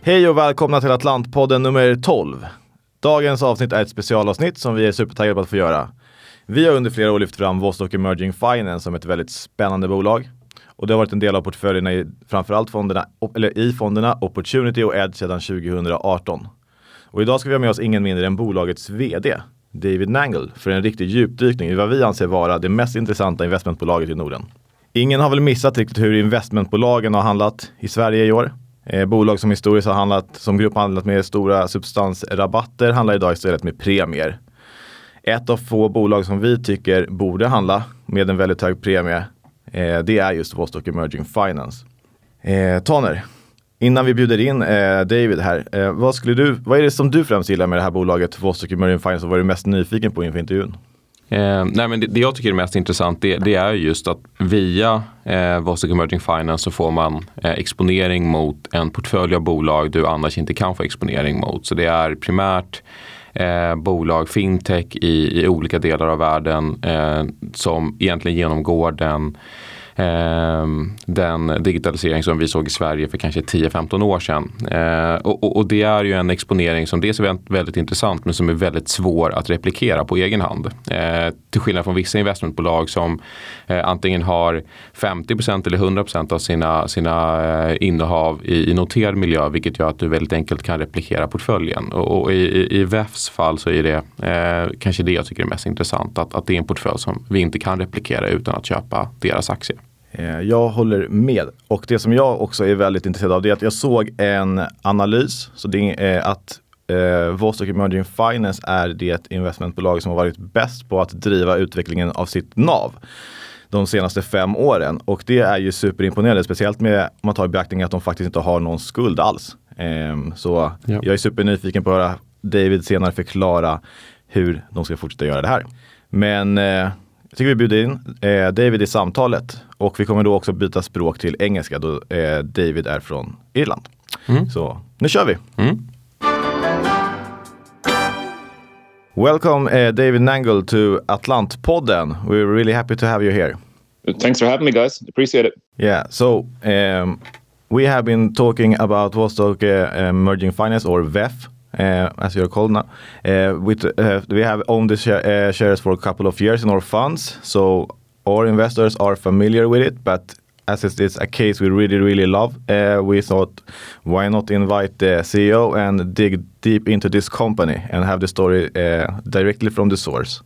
Hej och välkomna till Atlantpodden nummer 12. Dagens avsnitt är ett specialavsnitt som vi är supertaggade på att få göra. Vi har under flera år lyft fram Vostok Emerging Finance som ett väldigt spännande bolag. Och det har varit en del av portföljerna i framförallt fonderna Opportunity och Edge sedan 2018. Och idag ska vi ha med oss ingen mindre än bolagets vd, David Nangle, för en riktig djupdykning i vad vi anser vara det mest intressanta investmentbolaget i Norden. Ingen har väl missat riktigt hur investmentbolagen har handlat i Sverige i år. Bolag som historiskt har som grupp handlat med stora substansrabatter handlar idag istället med premier. Ett av få bolag som vi tycker borde handla med en väldigt hög premie, det är just Vostok Emerging Finance. Tanner, innan vi bjuder in David här, vad är det som du främst gillar med det här bolaget Vostok Emerging Finance och vad är du mest nyfiken på inför intervjun? Det jag tycker är mest intressant det är just att via Vostok Emerging Finance så får man exponering mot en portfölj av bolag du annars inte kan få exponering mot. Så det är primärt bolag, fintech i olika delar av världen som egentligen genomgår den digitalisering som vi såg i Sverige för kanske 10-15 år sedan. Och det är ju en exponering som dels är väldigt intressant men som är väldigt svår att replikera på egen hand. Till skillnad från vissa investmentbolag som antingen har 50% eller 100% av sina innehav i noterad miljö, vilket gör att du väldigt enkelt kan replikera portföljen. Och i VEFs fall så är det kanske det jag tycker är mest intressant, att det är en portfölj som vi inte kan replikera utan att köpa deras aktier. Jag håller med. Och det som jag också är väldigt intresserad av det är att jag såg en analys. Så det är att Vostok Emerging Finance är det investmentbolag som har varit bäst på att driva utvecklingen av sitt NAV de senaste 5 åren. Och det är ju superimponerande, speciellt med om man tar i beaktning att de faktiskt inte har någon skuld alls. Så jag är supernyfiken på att höra David senare förklara hur de ska fortsätta göra det här. Men jag tycker vi bjuder in David i samtalet och vi kommer då också byta språk till engelska då David är från Irland. Så nu kör vi! Welcome David Nangle to Atlantpodden. We're really happy to have you here. Thanks for having me, guys. Appreciate it. Yeah, so we have been talking about Vostok Emerging Finance or VEF. As you're called now, we have owned the shares for a couple of years in our funds, so our investors are familiar with it. But as it's a case we really love, we thought, why not invite the CEO and dig deep into this company and have the story directly from the source.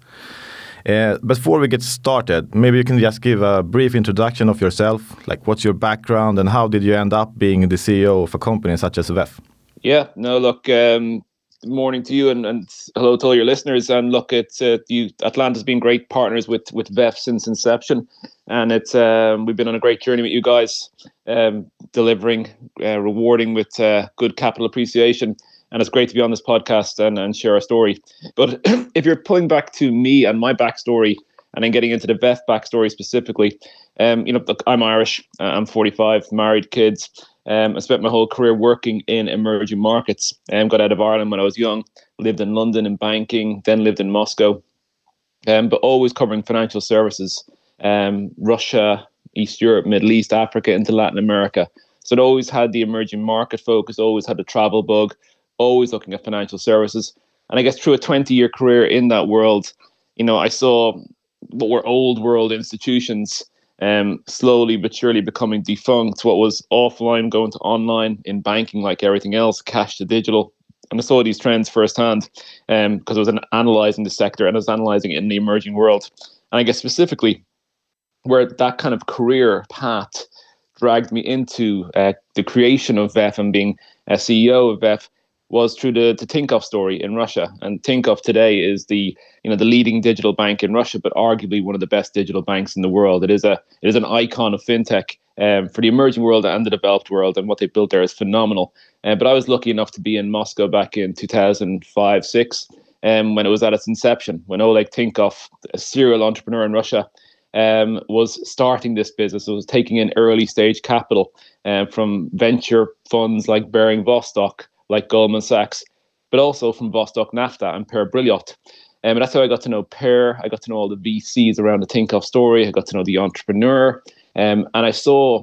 Before we get started, maybe you can just give a brief introduction of yourself, like what's your background and how did you end up being the CEO of a company such as VEF? Yeah, no, look, good morning to you and hello to all your listeners. And look, it's Atlanta's been great partners with VEF since inception. And it's we've been on a great journey with you guys, delivering, rewarding with good capital appreciation. And it's great to be on this podcast and share our story. But if you're pulling back to me and my backstory and then getting into the VEF backstory specifically, look, I'm Irish, I'm 45, married, kids. I spent my whole career working in emerging markets. Got out of Ireland when I was young, lived in London in banking, then lived in Moscow, but always covering financial services, Russia, East Europe, Middle East, Africa, into Latin America. So it always had the emerging market focus, always had the travel bug, always looking at financial services. And I guess through a 20-year career in that world, I saw what were old world institutions slowly but surely becoming defunct. What was offline going to online in banking, like everything else, cash to digital. And I saw these trends firsthand because I was analysing the sector and I was analysing it in the emerging world. And I guess specifically where that kind of career path dragged me into the creation of VEF and being a CEO of VEF was through the Tinkoff story in Russia. And Tinkoff today is the leading digital bank in Russia, but arguably one of the best digital banks in the world. It is an icon of fintech for the emerging world and the developed world, and what they built there is phenomenal. But I was lucky enough to be in Moscow back in 2005-06 when it was at its inception, when Oleg Tinkoff, a serial entrepreneur in Russia, was starting this business. It was taking in early stage capital from venture funds like Bering Vostok, like Goldman Sachs, but also from Vostok Nafta and Per Brilliot. And that's how I got to know Per. I got to know all the VCs around the Tinkoff story. I got to know the entrepreneur. And I saw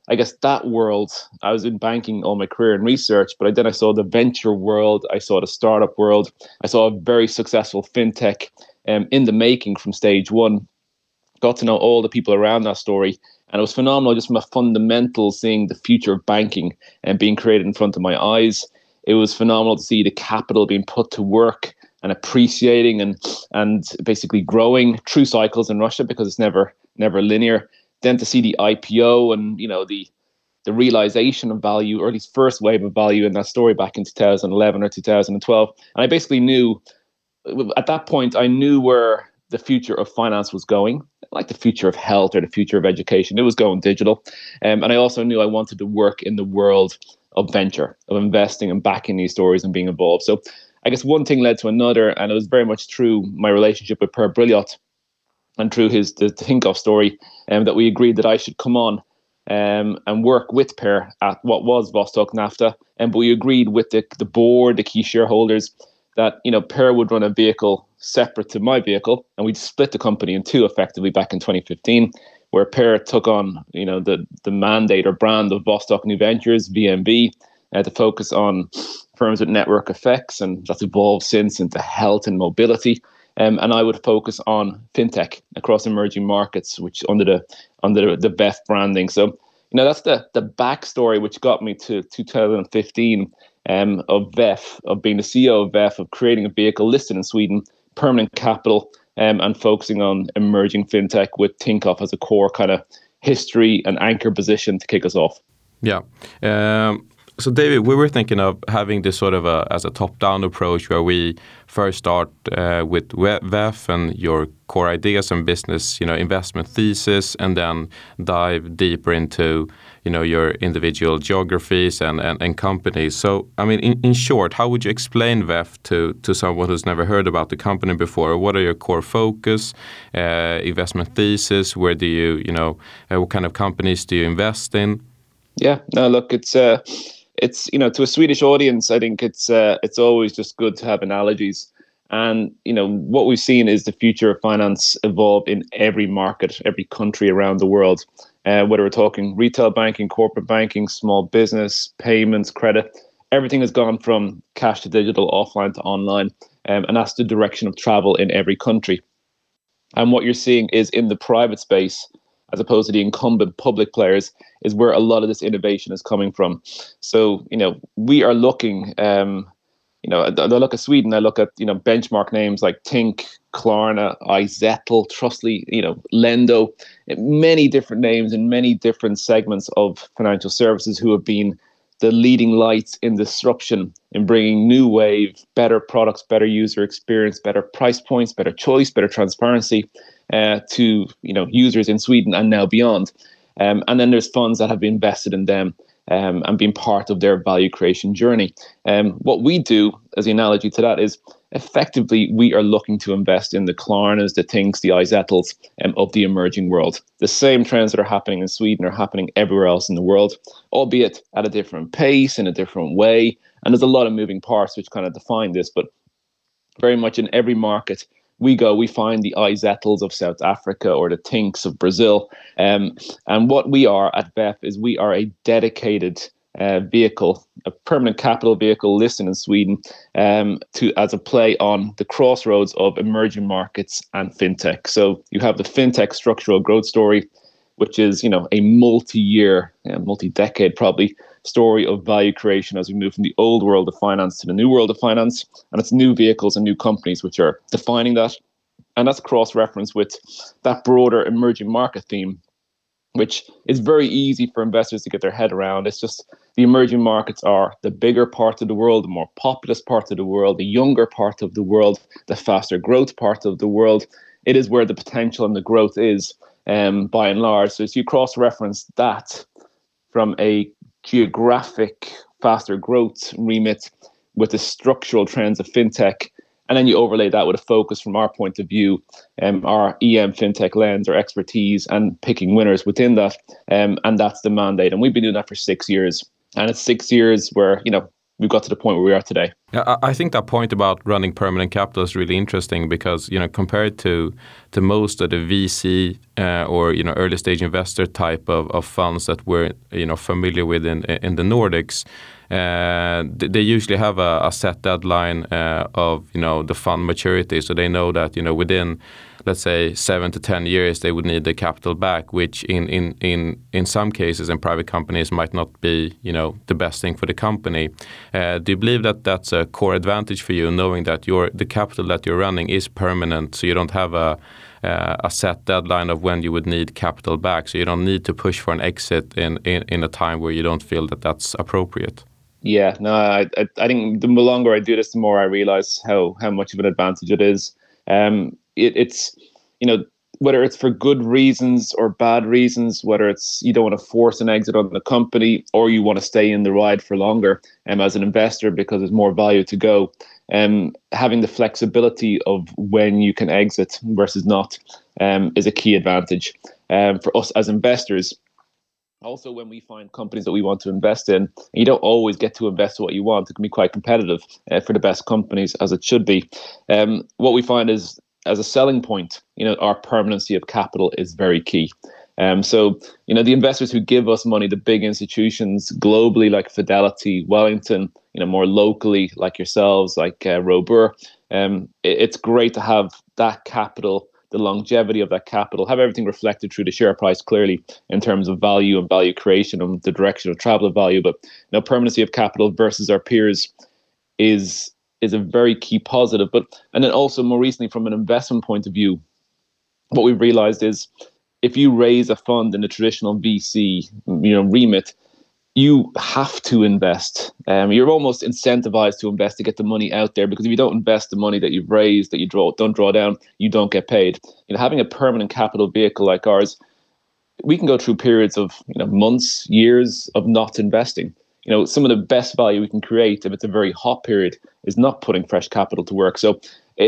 I guess that world, I was in banking all my career and research, but then I saw the venture world, I saw the startup world, I saw a very successful fintech in the making from stage one. Got to know all the people around that story. And it was phenomenal just from a fundamental seeing the future of banking and being created in front of my eyes. It was phenomenal to see the capital being put to work and appreciating and basically growing through cycles in Russia, because it's never linear. Then to see the IPO and, you know, the realization of value, or at least first wave of value in that story back in 2011 or 2012. And I basically knew, at that point, I knew where the future of finance was going, like the future of health or the future of education. It was going digital. And I also knew I wanted to work in the world of venture, of investing and backing these stories and being involved. So I guess one thing led to another, and it was very much through my relationship with Per Brilliot and through the Tinkoff story that we agreed that I should come on and work with Per at what was Vostok Nafta. But we agreed with the board, the key shareholders, that, you know, Per would run a vehicle separate to my vehicle, and we'd split the company in two effectively back in 2015, where Per took on, you know, the mandate or brand of Vostok New Ventures, VNV, to focus on firms with network effects, and that's evolved since into health and mobility. And I would focus on fintech across emerging markets, which under the VEF branding. So, you know, that's the backstory which got me to 2015 of VEF, of being the CEO of VEF, of creating a vehicle listed in Sweden, permanent capital, and focusing on emerging fintech with Tinkoff as a core kind of history and anchor position to kick us off. Yeah. So David, we were thinking of having this sort of as a top-down approach, where we first start with VEF and your core ideas and business, you know, investment thesis, and then dive deeper into, you know, your individual geographies and companies. So, I mean, in short, how would you explain VEF to someone who's never heard about the company before? What are your core focus, investment thesis? Where do you know, what kind of companies do you invest in? Yeah, no, look, it's you know, to a Swedish audience, I think it's always just good to have analogies. And, you know, what we've seen is the future of finance evolve in every market, every country around the world. Whether we're talking retail banking, corporate banking, small business, payments, credit, everything has gone from cash to digital, offline to online. And that's the direction of travel in every country. And what you're seeing is in the private space, as opposed to the incumbent public players, is where a lot of this innovation is coming from. So, you know, we are looking, you know, I look at Sweden, I look at, you know, benchmark names like Tink, Klarna, iZettle, Trustly, you know, Lendo, many different names in many different segments of financial services who have been the leading lights in disruption, in bringing new wave, better products, better user experience, better price points, better choice, better transparency to, you know, users in Sweden and now beyond. And then there's funds that have been invested in them and been part of their value creation journey. What we do, as the analogy to that, is effectively we are looking to invest in the Klarnas, the Tinks, the iZettles of the emerging world. The same trends that are happening in Sweden are happening everywhere else in the world, albeit at a different pace, in a different way. And there's a lot of moving parts which kind of define this, but very much in every market we find the iZettles of South Africa or the Tinks of Brazil. And what we are at VEF is we are a dedicated vehicle, a permanent capital vehicle listed in Sweden as a play on the crossroads of emerging markets and fintech. So you have the fintech structural growth story, which is, you know, a multi-year, multi-decade probably story of value creation as we move from the old world of finance to the new world of finance. And it's new vehicles and new companies which are defining that. And that's cross-referenced with that broader emerging market theme, which is very easy for investors to get their head around. It's just the emerging markets are the bigger part of the world, the more populous part of the world, the younger part of the world, the faster growth part of the world. It is where the potential and the growth is, by and large. So if you cross-reference that from a geographic faster growth remit with the structural trends of fintech, and then you overlay that with a focus from our point of view, our EM fintech lens, our expertise, and picking winners within that. And that's the mandate. And we've been doing that for 6 years. And it's 6 years where, you know, we've got to the point where we are today. I think that point about running permanent capital is really interesting because, compared to most of the VC or, early stage investor type of funds that we're, familiar with in the Nordics, they usually have a set deadline of, the fund maturity. So they know that, within, let's say 7 to 10 years, they would need the capital back, which in some cases in private companies might not be, the best thing for the company. Do you believe that that's a core advantage for you, knowing that the capital that you're running is permanent, so you don't have a set deadline of when you would need capital back, so you don't need to push for an exit in a time where you don't feel that that's appropriate? Yeah, no, I think the longer I do this, the more I realize how much of an advantage it is. It's, whether it's for good reasons or bad reasons, whether it's you don't want to force an exit on the company or you want to stay in the ride for longer as an investor because there's more value to go. Having the flexibility of when you can exit versus not is a key advantage for us as investors. Also, when we find companies that we want to invest in, you don't always get to invest what you want. It can be quite competitive for the best companies, as it should be. What we find is, as a selling point, our permanency of capital is very key. So, the investors who give us money, the big institutions globally like Fidelity, Wellington, more locally like yourselves, like Robur, it's great to have that capital, the longevity of that capital, have everything reflected through the share price clearly in terms of value and value creation and the direction of travel of value. But permanency of capital versus our peers is a very key positive. And then also more recently from an investment point of view, what we've realized is if you raise a fund in the traditional VC remit, you have to invest. You're almost incentivized to invest to get the money out there, because if you don't invest the money that you've raised, that you don't draw down, you don't get paid. Having a permanent capital vehicle like ours, we can go through periods of months, years of not investing. Some of the best value we can create if it's a very hot period is not putting fresh capital to work. So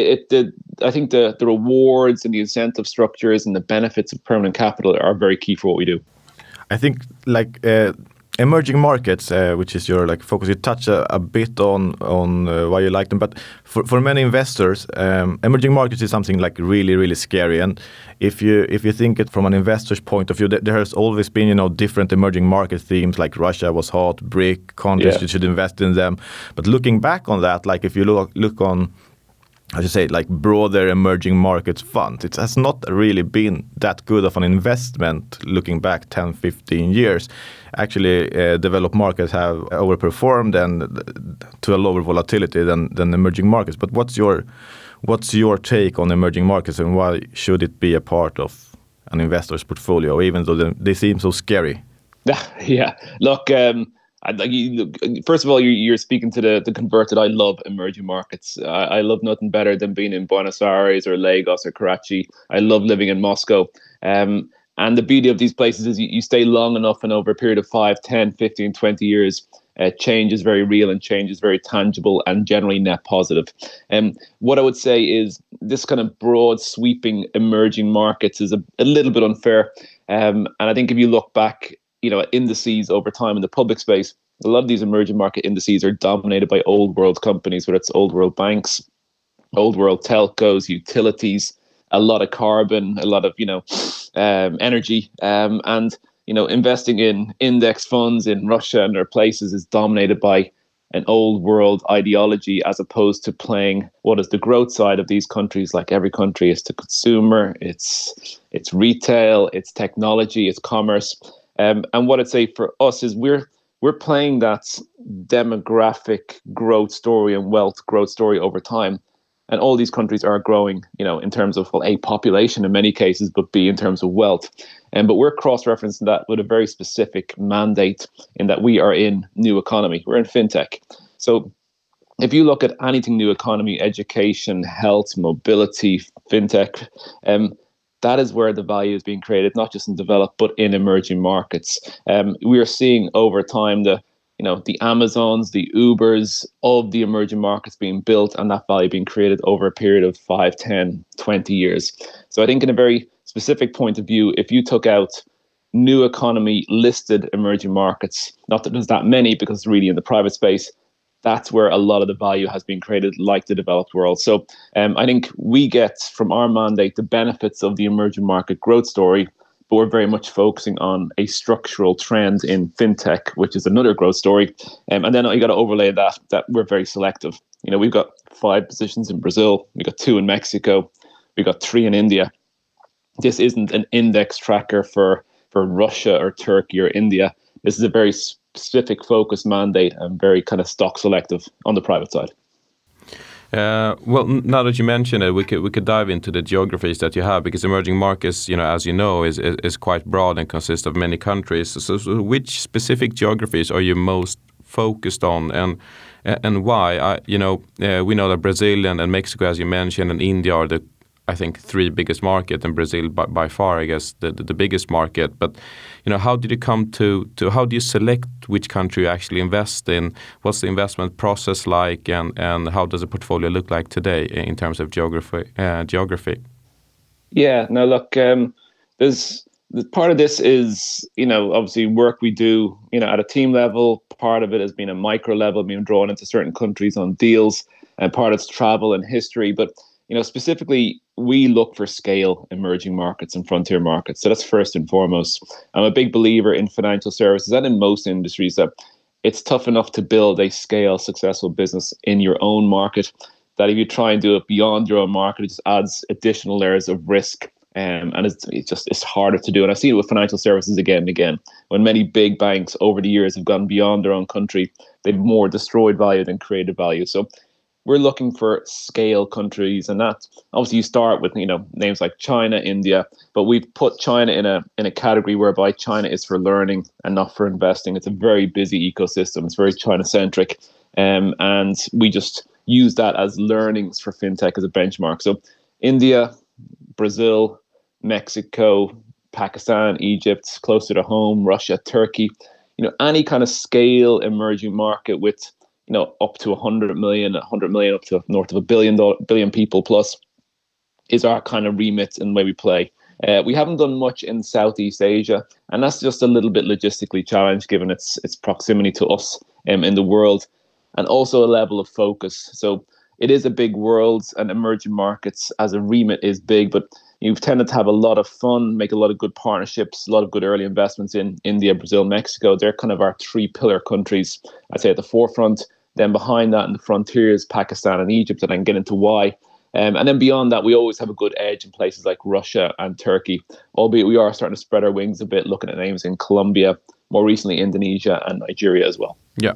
I think the rewards and the incentive structures and the benefits of permanent capital are very key for what we do. I think emerging markets, which is your focus, you touch a bit on why you like them, but for many investors, emerging markets is something really, really scary. And if you think it from an investor's point of view, there has always been different emerging market themes, like Russia was hot, BRIC countries, you should invest in them. But looking back on that, if you look on, I should say, broader emerging markets funds, it has not really been that good of an investment looking back 10, 15 years. Actually, developed markets have overperformed and to a lower volatility than emerging markets. But what's your take on emerging markets, and why should it be a part of an investor's portfolio, even though they seem so scary? Yeah, look, first of all, you're speaking to the converted. I love emerging markets. I love nothing better than being in Buenos Aires or Lagos or Karachi. I love living in Moscow. And the beauty of these places is you stay long enough, and over a period of 5, 10, 15, 20 years, change is very real and change is very tangible and generally net positive. What I would say is this kind of broad sweeping emerging markets is a little bit unfair. And I think if you look back, indices over time in the public space, a lot of these emerging market indices are dominated by old world companies, whether it's old world banks, old world telcos, utilities, a lot of carbon, a lot of energy, and investing in index funds in Russia and other places is dominated by an old world ideology, as opposed to playing what is the growth side of these countries. Like every country is the consumer, it's retail, it's technology, it's commerce. And what I'd say for us is we're playing that demographic growth story and wealth growth story over time. And all these countries are growing, in terms of A, population in many cases, but B, in terms of wealth. But we're cross-referencing that with a very specific mandate in that we are in new economy. We're in fintech. So if you look at anything new economy, education, health, mobility, fintech, that is where the value is being created, not just in developed, but in emerging markets. We are seeing over time the Amazons, the Ubers of the emerging markets being built, and that value being created over a period of 5, 10, 20 years. So I think in a very specific point of view, if you took out new economy listed emerging markets, not that there's that many because it's really in the private space, that's where a lot of the value has been created, like the developed world. So I think we get from our mandate the benefits of the emerging market growth story, but we're very much focusing on a structural trend in fintech, which is another growth story. And then you got to overlay that we're very selective. We've got 5 positions in Brazil, we've got 2 in Mexico, we've got 3 in India. This isn't an index tracker for Russia or Turkey or India. This is a very specific focus mandate and very kind of stock selective on the private side. Well, now that you mention it, we could dive into the geographies that you have, because emerging markets, as you know, is quite broad and consists of many countries. So which specific geographies are you most focused on, and why? We know that Brazil and Mexico, as you mentioned, and India are the, I think, 3 biggest market, and Brazil by far, I guess, the biggest market. But how did you come to how do you select which country you actually invest in? What's the investment process like, and how does a portfolio look like today in terms of geography? Yeah, no, look, there's part of this is obviously work we do at a team level. Part of it has been a micro level, being drawn into certain countries on deals, and part of it's travel and history. But specifically, we look for scale emerging markets and frontier markets. So that's first and foremost. I'm a big believer in financial services and in most industries that it's tough enough to build a scale successful business in your own market, that if you try and do it beyond your own market, it just adds additional layers of risk. And it's harder to do. And I've seen it with financial services again and again. When many big banks over the years have gone beyond their own country, they've more destroyed value than created value. So we're looking for scale countries, and that obviously you start with names like China, India, but we've put China in a category whereby China is for learning and not for investing. It's a very busy ecosystem. It's very China centric, and we just use that as learnings for fintech as a benchmark. So India, Brazil, Mexico, Pakistan, Egypt, closer to home, Russia, Turkey, any kind of scale emerging market with up to 100 million up to north of a billion people plus is our kind of remit and the way we play. We haven't done much in Southeast Asia, and that's just a little bit logistically challenged given its proximity to us in the world, and also a level of focus. So it is a big world, and emerging markets as a remit is big, but you've tended to have a lot of fun, make a lot of good partnerships, a lot of good early investments in India, Brazil, Mexico. They're kind of our 3 pillar countries, I'd say, at the forefront. Then behind that in the frontiers, Pakistan and Egypt, and I can get into why. And then beyond that, we always have a good edge in places like Russia and Turkey, albeit we are starting to spread our wings a bit, looking at names in Colombia, more recently Indonesia and Nigeria as well. Yeah.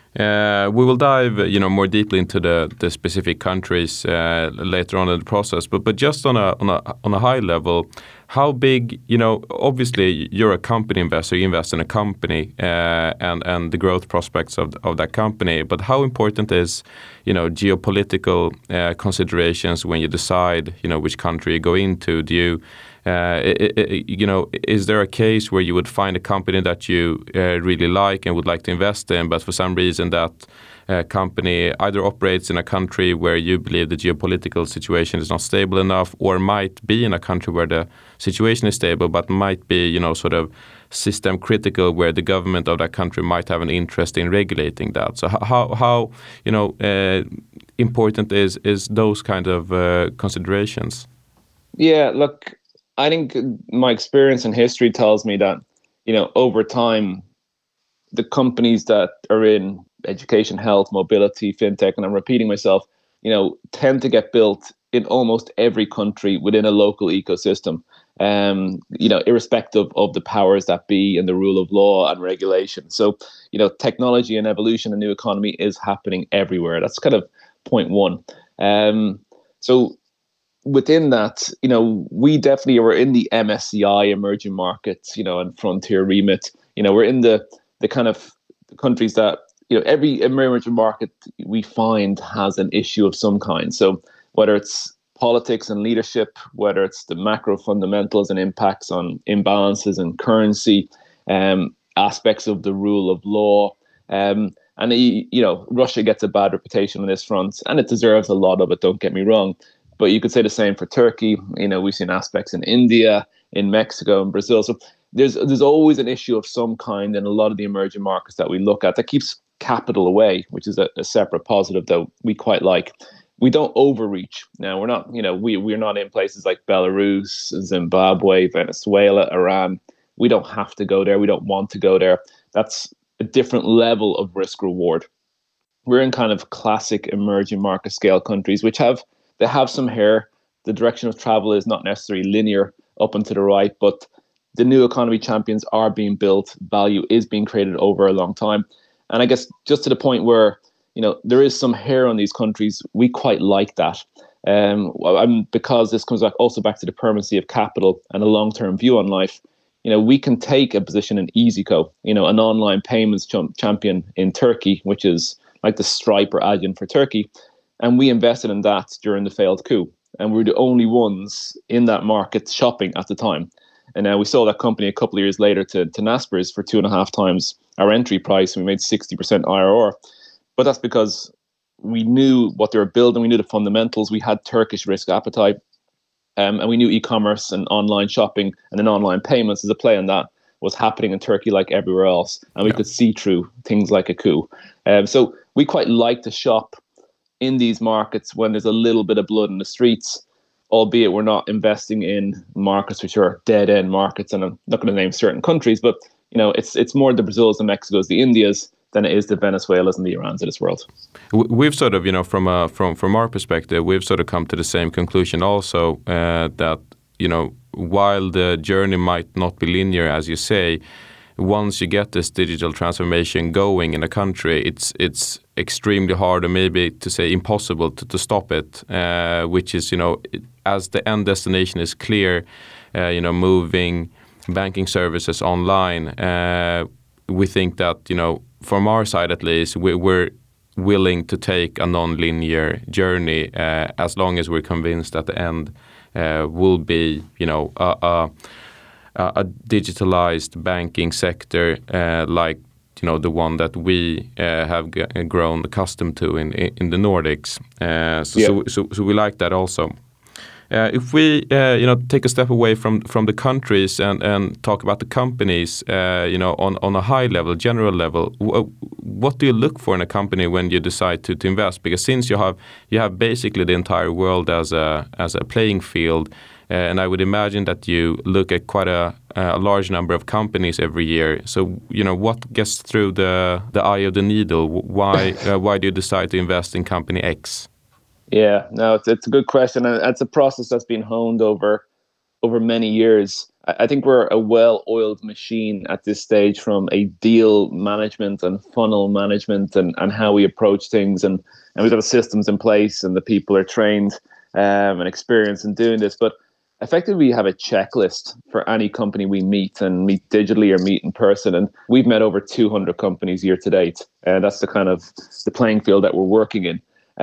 We will dive, more deeply into the specific countries later on in the process. But just on a high level, how big? Obviously you're a company investor. You invest in a company and the growth prospects of that company. But how important is geopolitical considerations when you decide which country you go into? Do you is there a case where you would find a company that you really like and would like to invest in, but for some reason that company either operates in a country where you believe the geopolitical situation is not stable enough, or might be in a country where the situation is stable, but might be, sort of system critical, where the government of that country might have an interest in regulating that? So how important is those kind of considerations? Yeah, look, I think my experience in history tells me that, over time, the companies that are in education, health, mobility, fintech, and I'm repeating myself, tend to get built in almost every country within a local ecosystem, irrespective of the powers that be and the rule of law and regulation. So, technology and evolution and new economy is happening everywhere. That's kind of point one. So within that, we definitely were in the MSCI emerging markets, and frontier remit. We're in the kind of countries that, every emerging market we find has an issue of some kind. So whether it's politics and leadership, whether it's the macro fundamentals and impacts on imbalances in currency, aspects of the rule of law, and Russia gets a bad reputation on this front, and it deserves a lot of it, don't get me wrong. But you could say the same for Turkey. We've seen aspects in India, in Mexico, and Brazil. So there's always an issue of some kind in a lot of the emerging markets that we look at that keeps capital away, which is a separate positive that we quite like. We don't overreach. Now, we're not, we're not in places like Belarus, Zimbabwe, Venezuela, Iran. We don't have to go there. We don't want to go there. That's a different level of risk reward. We're in kind of classic emerging market scale countries, which have some hair. The direction of travel is not necessarily linear up and to the right, but the new economy champions are being built. Value is being created over a long time. And I guess just to the point where, there is some hair on these countries, we quite like that. Because this comes back to the permanency of capital and a long-term view on life. We can take a position in EasyCo, an online payments champion in Turkey, which is like the Stripe or Adyen for Turkey. And we invested in that during the failed coup. And we were the only ones in that market shopping at the time. And we sold that company a couple of years later to Naspers for 2.5 times our entry price. And we made 60% IRR. But that's because we knew what they were building. We knew the fundamentals. We had Turkish risk appetite. And we knew e-commerce and online shopping and then online payments as a play on that was happening in Turkey like everywhere else. And we could see through things like a coup. So we quite like to shop in these markets when there's a little bit of blood in the streets, albeit we're not investing in markets which are dead-end markets. And I'm not going to name certain countries, but it's more the Brazils, the Mexicos, the Indias than it is the Venezuelas and the Irans of this world. We've sort of, from our perspective, we've sort of come to the same conclusion also that, while the journey might not be linear, as you say, once you get this digital transformation going in a country, it's extremely hard, or maybe to say impossible, to stop it, which is, as the end destination is clear, moving banking services online, we think that, from our side at least, we're willing to take a non-linear journey as long as we're convinced that the end will be, a digitalized banking sector like the one that we have grown accustomed to in the Nordics. So we like that also. If we take a step away from the countries and talk about the companies, on a high level, general level, what do you look for in a company when you decide to invest? Because since you have basically the entire world as a playing field, and I would imagine that you look at quite a large number of companies every year. So what gets through the eye of the needle? Why do you decide to invest in company X? Yeah, no, it's a good question, and it's a process that's been honed over many years. I think we're a well-oiled machine at this stage from a deal management and funnel management and how we approach things, and we've got systems in place, and the people are trained and experienced in doing this. But effectively, we have a checklist for any company we meet digitally or meet in person, and we've met over 200 companies year to date, and that's the kind of the playing field that we're working in.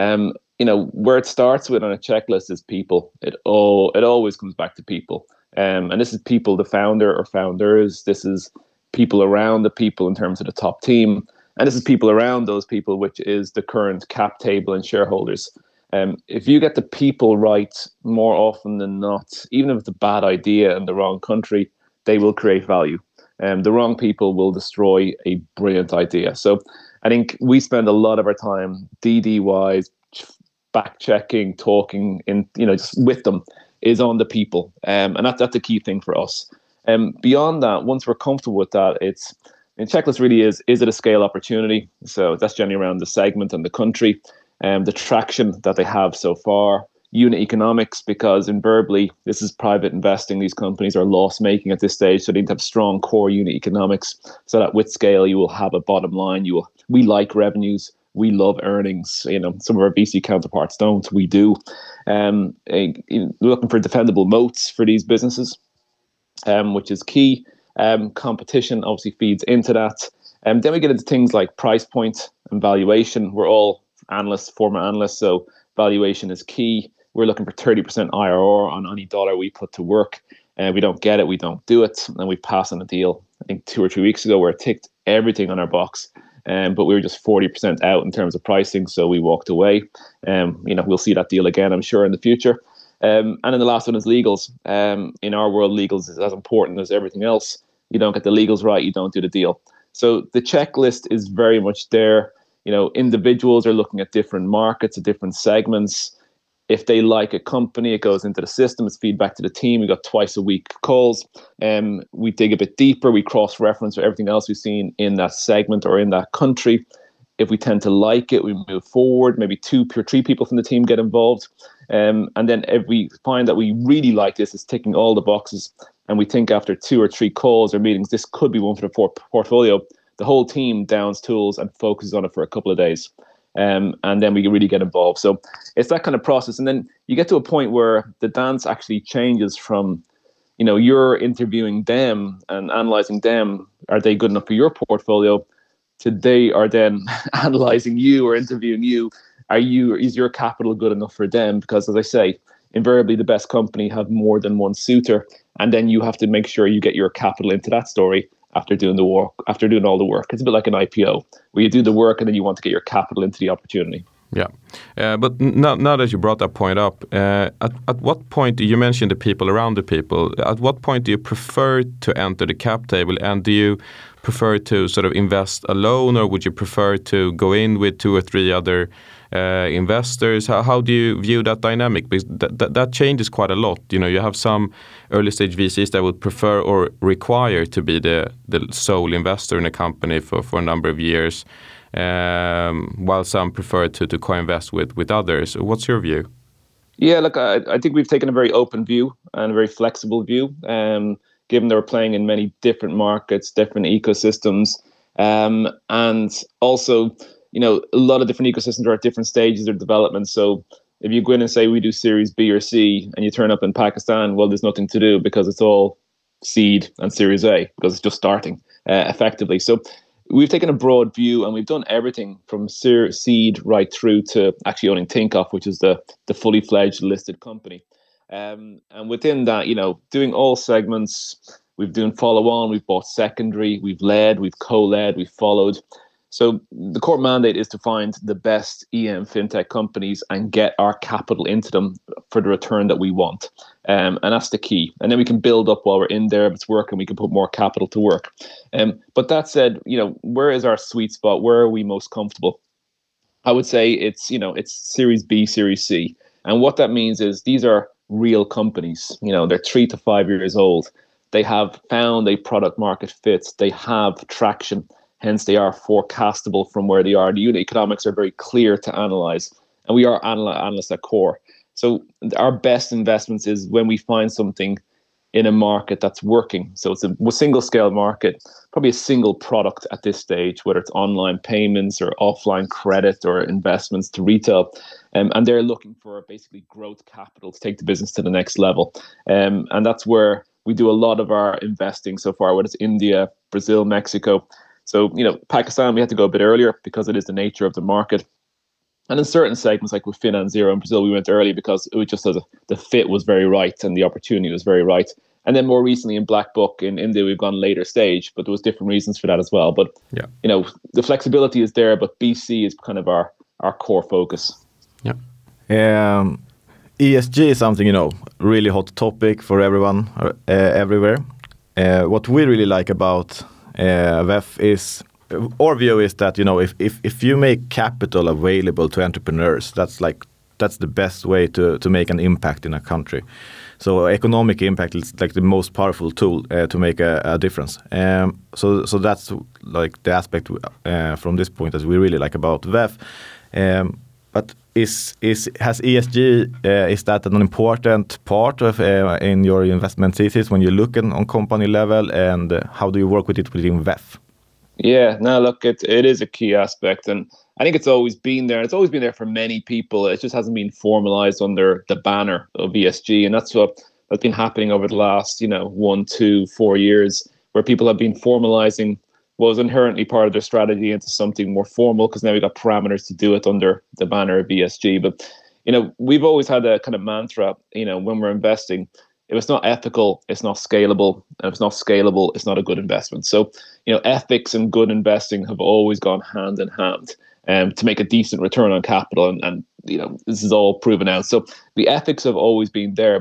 Where it starts with on a checklist is people. It always comes back to people. And this is people, the founder or founders. This is people around the people in terms of the top team. And this is people around those people, which is the current cap table and shareholders. If you get the people right more often than not, even if it's a bad idea in the wrong country, they will create value. The wrong people will destroy a brilliant idea. So I think we spend a lot of our time DD-wise, back-checking, talking, just with them, is on the people. And that's a key thing for us. Beyond that, once we're comfortable with that, checklist really is it a scale opportunity? So that's generally around the segment and the country, the traction that they have so far, unit economics, because invariably this is private investing. These companies are loss-making at this stage, so they need to have strong core unit economics so that with scale you will have a bottom line. We like revenues. We love earnings. Some of our VC counterparts don't. We do. Looking for defendable moats for these businesses, which is key. Competition obviously feeds into that. Then we get into things like price point and valuation. We're all analysts, former analysts, so valuation is key. We're looking for 30% IRR on any dollar we put to work. We don't get it, we don't do it, and we pass on a deal. I think 2 or 3 weeks ago where it ticked everything on our box. But we were just 40% out in terms of pricing, so we walked away. We'll see that deal again, I'm sure, in the future. And then the last one is legals. In our world, legals is as important as everything else. You don't get the legals right, you don't do the deal. So the checklist is very much there. Individuals are looking at different markets, at different segments. If they like a company, it goes into the system. It's feedback to the team. We got twice a week calls. We dig a bit deeper. We cross-reference everything else we've seen in that segment or in that country. If we tend to like it, we move forward. Maybe 2 or 3 people from the team get involved. And then if we find that we really like this, it's ticking all the boxes, and we think after 2 or 3 calls or meetings, this could be one for the portfolio, the whole team downs tools and focuses on it for a couple of days. And then we really get involved. So it's that kind of process. And then you get to a point where the dance actually changes from, you're interviewing them and analyzing them. Are they good enough for your portfolio? To they are then analyzing you or interviewing you. Is your capital good enough for them? Because as I say, invariably the best company have more than one suitor. And then you have to make sure you get your capital into that story after doing the work, after doing all the work. It's a bit like an IPO, where you do the work and then you want to get your capital into the opportunity. Yeah, but now that you brought that point up, at what point, you mentioned the people around the people, at what point do you prefer to enter the cap table, and do you prefer to sort of invest alone, or would you prefer to go in with 2 or 3 other investors? How do you view that dynamic? Because that changes quite a lot. You have some early stage VCs that would prefer or require to be the sole investor in a company for a number of years, while some prefer to co-invest with others. What's your view? Yeah, look, I think we've taken a very open view and a very flexible view, given they're playing in many different markets, different ecosystems, and also, a lot of different ecosystems are at different stages of development. So if you go in and say we do Series B or C, and you turn up in Pakistan, well, there's nothing to do because it's all seed and Series A, because it's just starting effectively. So we've taken a broad view, and we've done everything from seed right through to actually owning Tinkoff, which is the fully fledged listed company. And within that, doing all segments, we've done follow on, we've bought secondary, we've led, we've co-led, we've followed. So the core mandate is to find the best EM fintech companies and get our capital into them for the return that we want. And that's the key. And then we can build up while we're in there. If it's working, we can put more capital to work. But that said, where is our sweet spot? Where are we most comfortable? I would say it's Series B, Series C. And what that means is these are real companies. They're 3 to 5 years old. They have found a product market fit. They have traction. Hence, they are forecastable from where they are. The unit economics are very clear to analyze, and we are analysts at core. So our best investments is when we find something in a market that's working. So it's a single scale market, probably a single product at this stage, whether it's online payments or offline credit or investments to retail. And they're looking for basically growth capital to take the business to the next level. And that's where we do a lot of our investing so far, whether it's India, Brazil, Mexico. So, Pakistan, we had to go a bit earlier because it is the nature of the market. And in certain segments, like with FinanZero in Brazil, we went early because it was just the fit was very right and the opportunity was very right. And then more recently in Black Book in India, we've gone later stage, but there was different reasons for that as well. But, the flexibility is there, but BC is kind of our core focus. Yeah. ESG is something, really hot topic for everyone, everywhere. What we really like about VEF is, our view is that if you make capital available to entrepreneurs, that's the best way to make an impact in a country. So economic impact is like the most powerful tool to make a difference. So that's like the aspect from this point that we really like about VEF. But has ESG is that an important part of in your investment thesis when you're looking on company level, and how do you work with it within VEF? Yeah, no, look, it is a key aspect, and I think it's always been there. It's always been there for many people. It just hasn't been formalized under the banner of ESG, and that's been happening over the last 1, 2, 4 years, where people have been formalizing what was inherently part of their strategy into something more formal, because now we've got parameters to do it under the banner of ESG. But we've always had a kind of mantra, when we're investing, if it's not ethical, it's not scalable. And if it's not scalable, it's not a good investment. So, ethics and good investing have always gone hand in hand to make a decent return on capital. And this is all proven out. So the ethics have always been there. But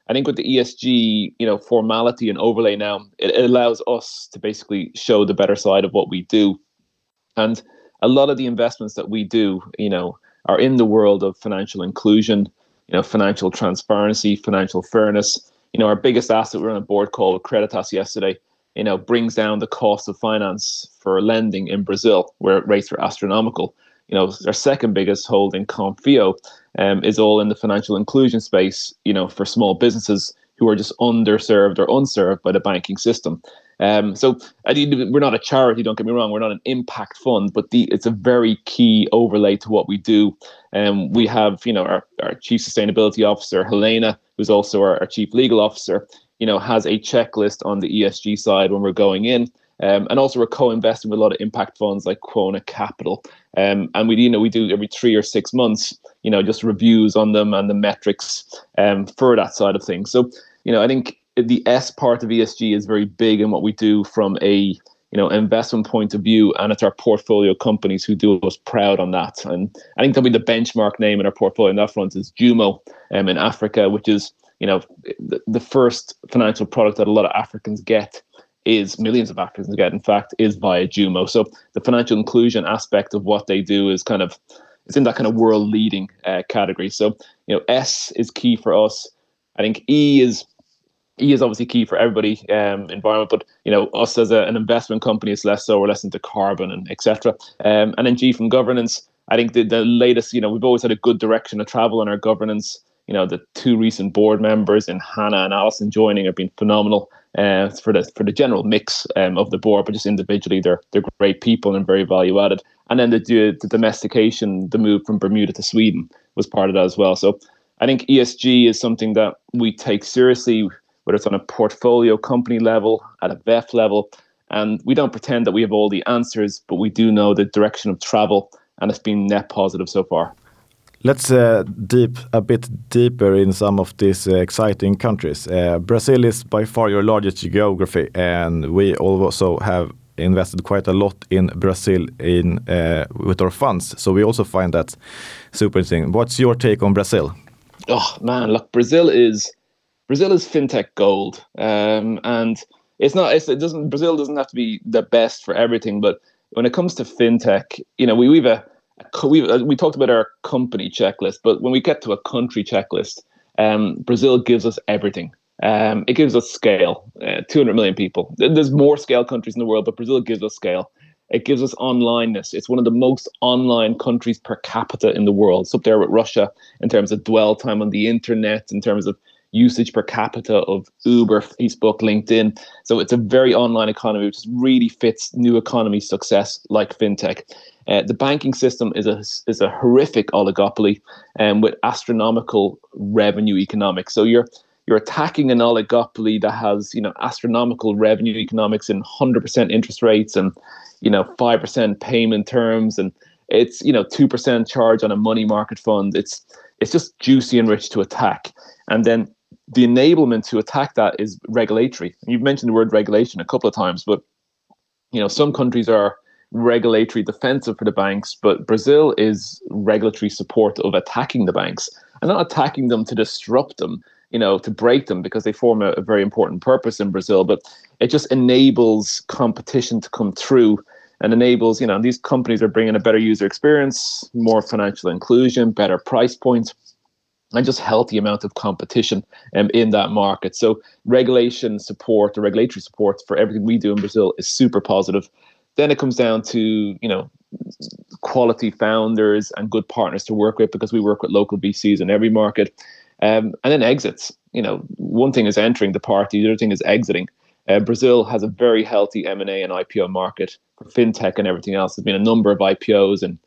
I think with the ESG, formality and overlay now, it allows us to basically show the better side of what we do. And a lot of the investments that we do, are in the world of financial inclusion, financial transparency, financial fairness. Our biggest asset, we were on a board call with Creditas yesterday, brings down the cost of finance for lending in Brazil, where rates are astronomical. Our second biggest holding, Confio, is all in the financial inclusion space, for small businesses who are just underserved or unserved by the banking system. So we're not a charity, don't get me wrong, we're not an impact fund, but it's a very key overlay to what we do. We have, our Chief Sustainability Officer, Helena, who's also our Chief Legal Officer, has a checklist on the ESG side when we're going in. And also we're co-investing with a lot of impact funds like Quona Capital. And we do every 3 or 6 months, just reviews on them and the metrics for that side of things. So, I think the S part of ESG is very big in what we do from a investment point of view, and it's our portfolio companies who do us proud on that. And I think that'll be the benchmark name in our portfolio on that front is Jumo in Africa, which is the first financial product that a lot of Africans get. Millions of Africans get, in fact, is via Jumo. So the financial inclusion aspect of what they do is it's in that kind of world leading category. So S is key for us. I think E is obviously key for everybody, environment, but us as an investment company is less so. We're less into carbon and etc. And then G from governance. I think the latest, we've always had a good direction of travel in our governance. The 2 recent board members in Hannah and Alison joining have been phenomenal for the general mix of the board, but just individually they're great people and very value added. And then the domestication, the move from Bermuda to Sweden was part of that as well. So I think ESG is something that we take seriously, whether it's on a portfolio company level, at a VEF level, and we don't pretend that we have all the answers, but we do know the direction of travel, and it's been net positive so far. Let's deep a bit deeper in some of these exciting countries. Brazil is by far your largest geography, and we also have invested quite a lot in Brazil with our funds. So we also find that super interesting. What's your take on Brazil? Oh man, look, Brazil is fintech gold, and Brazil doesn't have to be the best for everything, but when it comes to fintech, we talked about our company checklist, but when we get to a country checklist, Brazil gives us everything. It gives us scale, 200 million people. There's more scale countries in the world, but Brazil gives us scale. It gives us onlineness. It's one of the most online countries per capita in the world. It's up there with Russia in terms of dwell time on the internet, in terms of usage per capita of Uber, Facebook, LinkedIn. So it's a very online economy, which really fits new economy success like fintech. The banking system is a horrific oligopoly with astronomical revenue economics. So you're attacking an oligopoly that has astronomical revenue economics and 100% interest rates and 5% payment terms, and it's 2% charge on a money market fund. It's just juicy and rich to attack. And then the enablement to attack that is regulatory. You've mentioned the word regulation a couple of times, but some countries are regulatory defensive for the banks, but Brazil is regulatory support of attacking the banks, and not attacking them to disrupt them, to break them, because they form a very important purpose in Brazil, but it just enables competition to come through and enables, these companies are bringing a better user experience, more financial inclusion, better price points, and just healthy amount of competition in that market. So regulation support, the regulatory support for everything we do in Brazil is super positive. Then it comes down to, quality founders and good partners to work with, because we work with local VCs in every market. And then exits. One thing is entering the party, the other thing is exiting. Brazil has a very healthy M&A and IPO market for fintech and everything else. There's been a number of IPOs and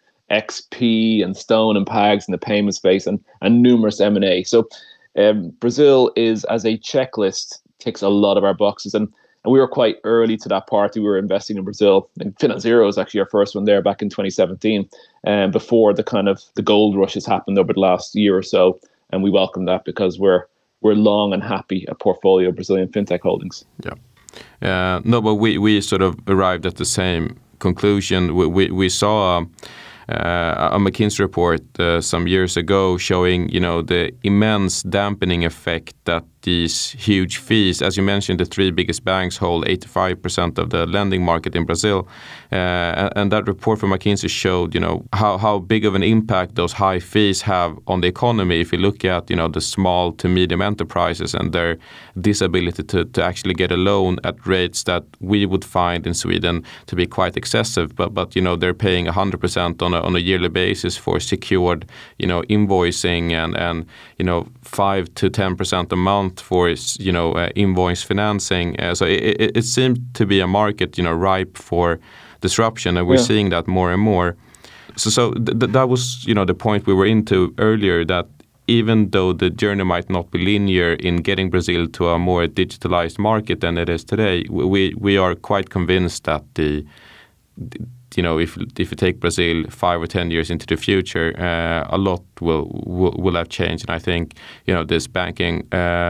XP and Stone and Pags in the payment space and numerous M&A. So Brazil is, as a checklist, ticks a lot of our boxes. And we were quite early to that party. We were investing in Brazil. And FinanZero was actually our first one there back in 2017, before the gold rush has happened over the last year or so. And we welcome that because we're long and happy a portfolio of Brazilian fintech holdings. Yeah. No, but we sort of arrived at the same conclusion. We saw a McKinsey report some years ago showing, the immense dampening effect that these huge fees. As you mentioned, the three biggest banks hold 85% of the lending market in Brazil. And that report from McKinsey showed, how big of an impact those high fees have on the economy. If you look at, the small to medium enterprises and their disability to actually get a loan at rates that we would find in Sweden to be quite excessive. But they're paying 100% on a yearly basis for secured, invoicing and 5 to 10% a month for, invoice financing. So it seemed to be a market, ripe for disruption, and we're seeing that more and more. So that was, the point we were into earlier, that even though the journey might not be linear in getting Brazil to a more digitalized market than it is today, we are quite convinced that if you take Brazil 5 or 10 years into the future, a lot will have changed. And I think, this banking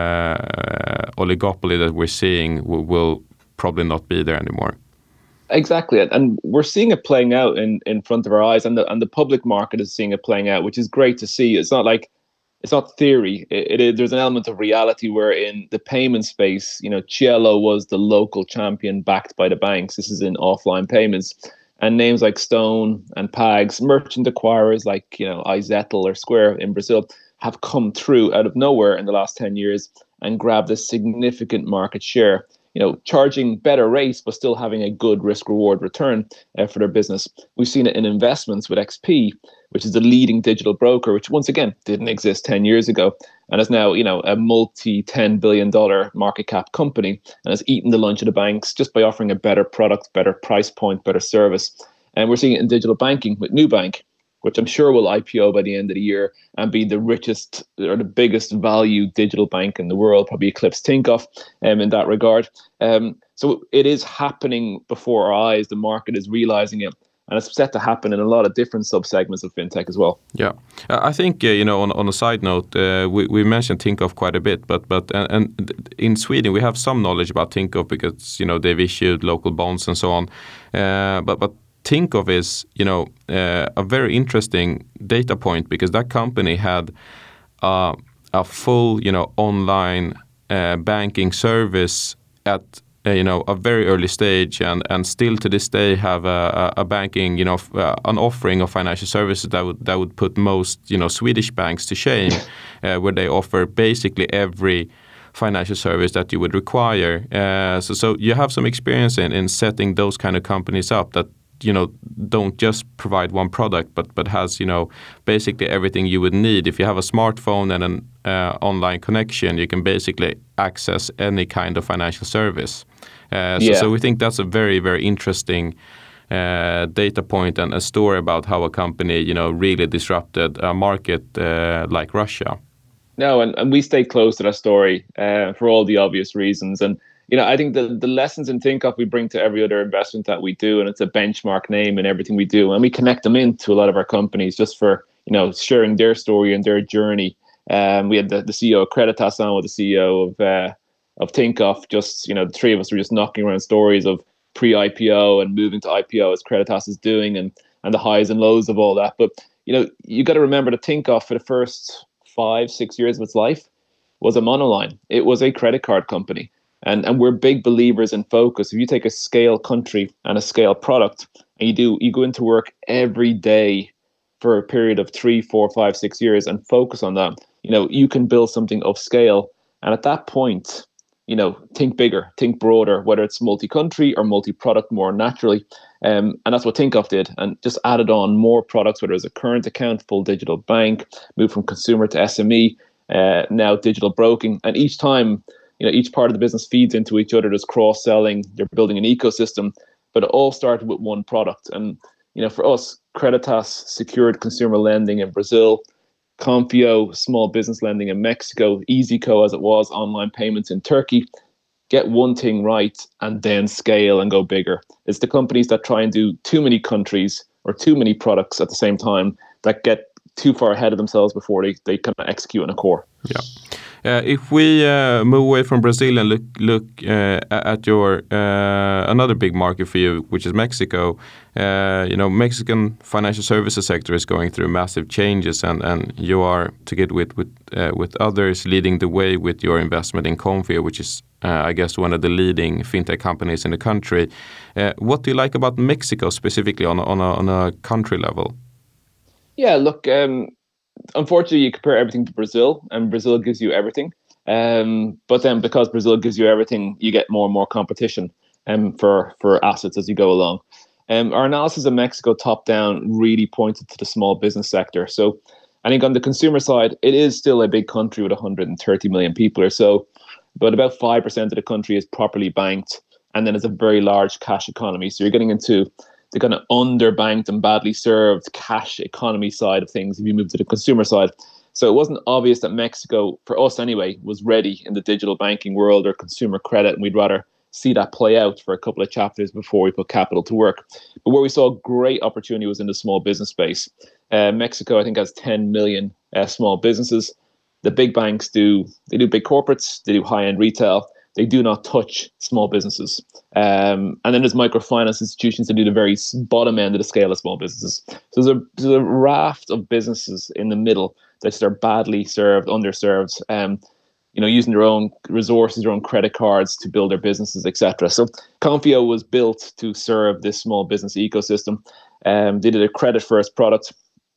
oligopoly that we're seeing will probably not be there anymore. Exactly, and we're seeing it playing out in front of our eyes, and the public market is seeing it playing out, which is great to see. It's not theory. There's an element of reality where in the payment space, Cielo was the local champion backed by the banks. This is in offline payments. And names like Stone and Pags, merchant acquirers like, iZettle or Square in Brazil, have come through out of nowhere in the last 10 years and grabbed a significant market share, charging better rates, but still having a good risk-reward return for their business. We've seen it in investments with XP, which is the leading digital broker, which once again didn't exist 10 years ago, and is now, a multi-$10 billion market cap company, and has eaten the lunch of the banks just by offering a better product, better price point, better service. And we're seeing it in digital banking with Nubank, which I'm sure will IPO by the end of the year and be the richest or the biggest value digital bank in the world, probably eclipse Tinkoff in that regard. So it is happening before our eyes. The market is realizing it. And it's set to happen in a lot of different subsegments of fintech as well. Yeah, I think on a side note, we mentioned Tinkoff quite a bit, but in Sweden we have some knowledge about Tinkoff because they've issued local bonds and so on. But Tinkoff is a very interesting data point because that company had a full online banking service at a very early stage, and still to this day have a banking, an offering of financial services that would put most, Swedish banks to shame, where they offer basically every financial service that you would require. So you have some experience in setting those kind of companies up that, don't just provide one product, but has, basically everything you would need. If you have a smartphone and an online connection, you can basically access any kind of financial service. So we think that's a very, very interesting data point and a story about how a company, really disrupted a market like Russia. No, and we stay close to that story for all the obvious reasons. And I think the lessons in Tinkoff we bring to every other investment that we do, and it's a benchmark name in everything we do. And we connect them into a lot of our companies just for, sharing their story and their journey. We had the CEO of Creditas on with the CEO of Tinkoff. Just, the three of us were just knocking around stories of pre-IPO and moving to IPO as Creditas is doing and the highs and lows of all that. But, you got to remember that Tinkoff for the first 5-6 years of its life was a monoline. It was a credit card company. And we're big believers in focus. If you take a scale country and a scale product and you go into work every day for a period of 3, 4, 5, 6 years and focus on that, you can build something of scale. And at that point, think bigger, think broader, whether it's multi-country or multi-product more naturally. And that's what Tinkoff did, and just added on more products, whether it's a current account, full digital bank, moved from consumer to SME, now digital broking. And each time, each part of the business feeds into each other. There's cross-selling, you're building an ecosystem, but it all started with one product. And, for us, Creditas secured consumer lending in Brazil, Konfio, small business lending in Mexico, EasyCo as it was, online payments in Turkey. Get one thing right and then scale and go bigger. It's the companies that try and do too many countries or too many products at the same time that get too far ahead of themselves before they kind of execute on a core. Yeah. If we move away from Brazil and look at your another big market for you, which is Mexico, Mexican financial services sector is going through massive changes, and you are together with others leading the way with your investment in Konfio, which is I guess one of the leading fintech companies in the country. What do you like about Mexico specifically on a country level? Yeah, look. Unfortunately, you compare everything to Brazil, and Brazil gives you everything. But then, because Brazil gives you everything, you get more and more competition for assets as you go along. Our analysis of Mexico top down really pointed to the small business sector. So I think on the consumer side, it is still a big country with 130 million people or so, but about 5% of the country is properly banked, and then it's a very large cash economy. So you're getting into the kind of underbanked and badly served cash economy side of things if you move to the consumer side. So it wasn't obvious that Mexico, for us anyway, was ready in the digital banking world or consumer credit, and we'd rather see that play out for a couple of chapters before we put capital to work. But where we saw great opportunity was in the small business space. Mexico, I think, has 10 million small businesses. The big banks do big corporates, they do high-end retail. They do not touch small businesses. And then there's microfinance institutions that do the very bottom end of the scale of small businesses. So there's a raft of businesses in the middle that are badly served, underserved, using their own resources, their own credit cards to build their businesses, etc. So Konfio was built to serve this small business ecosystem. They did a credit first product,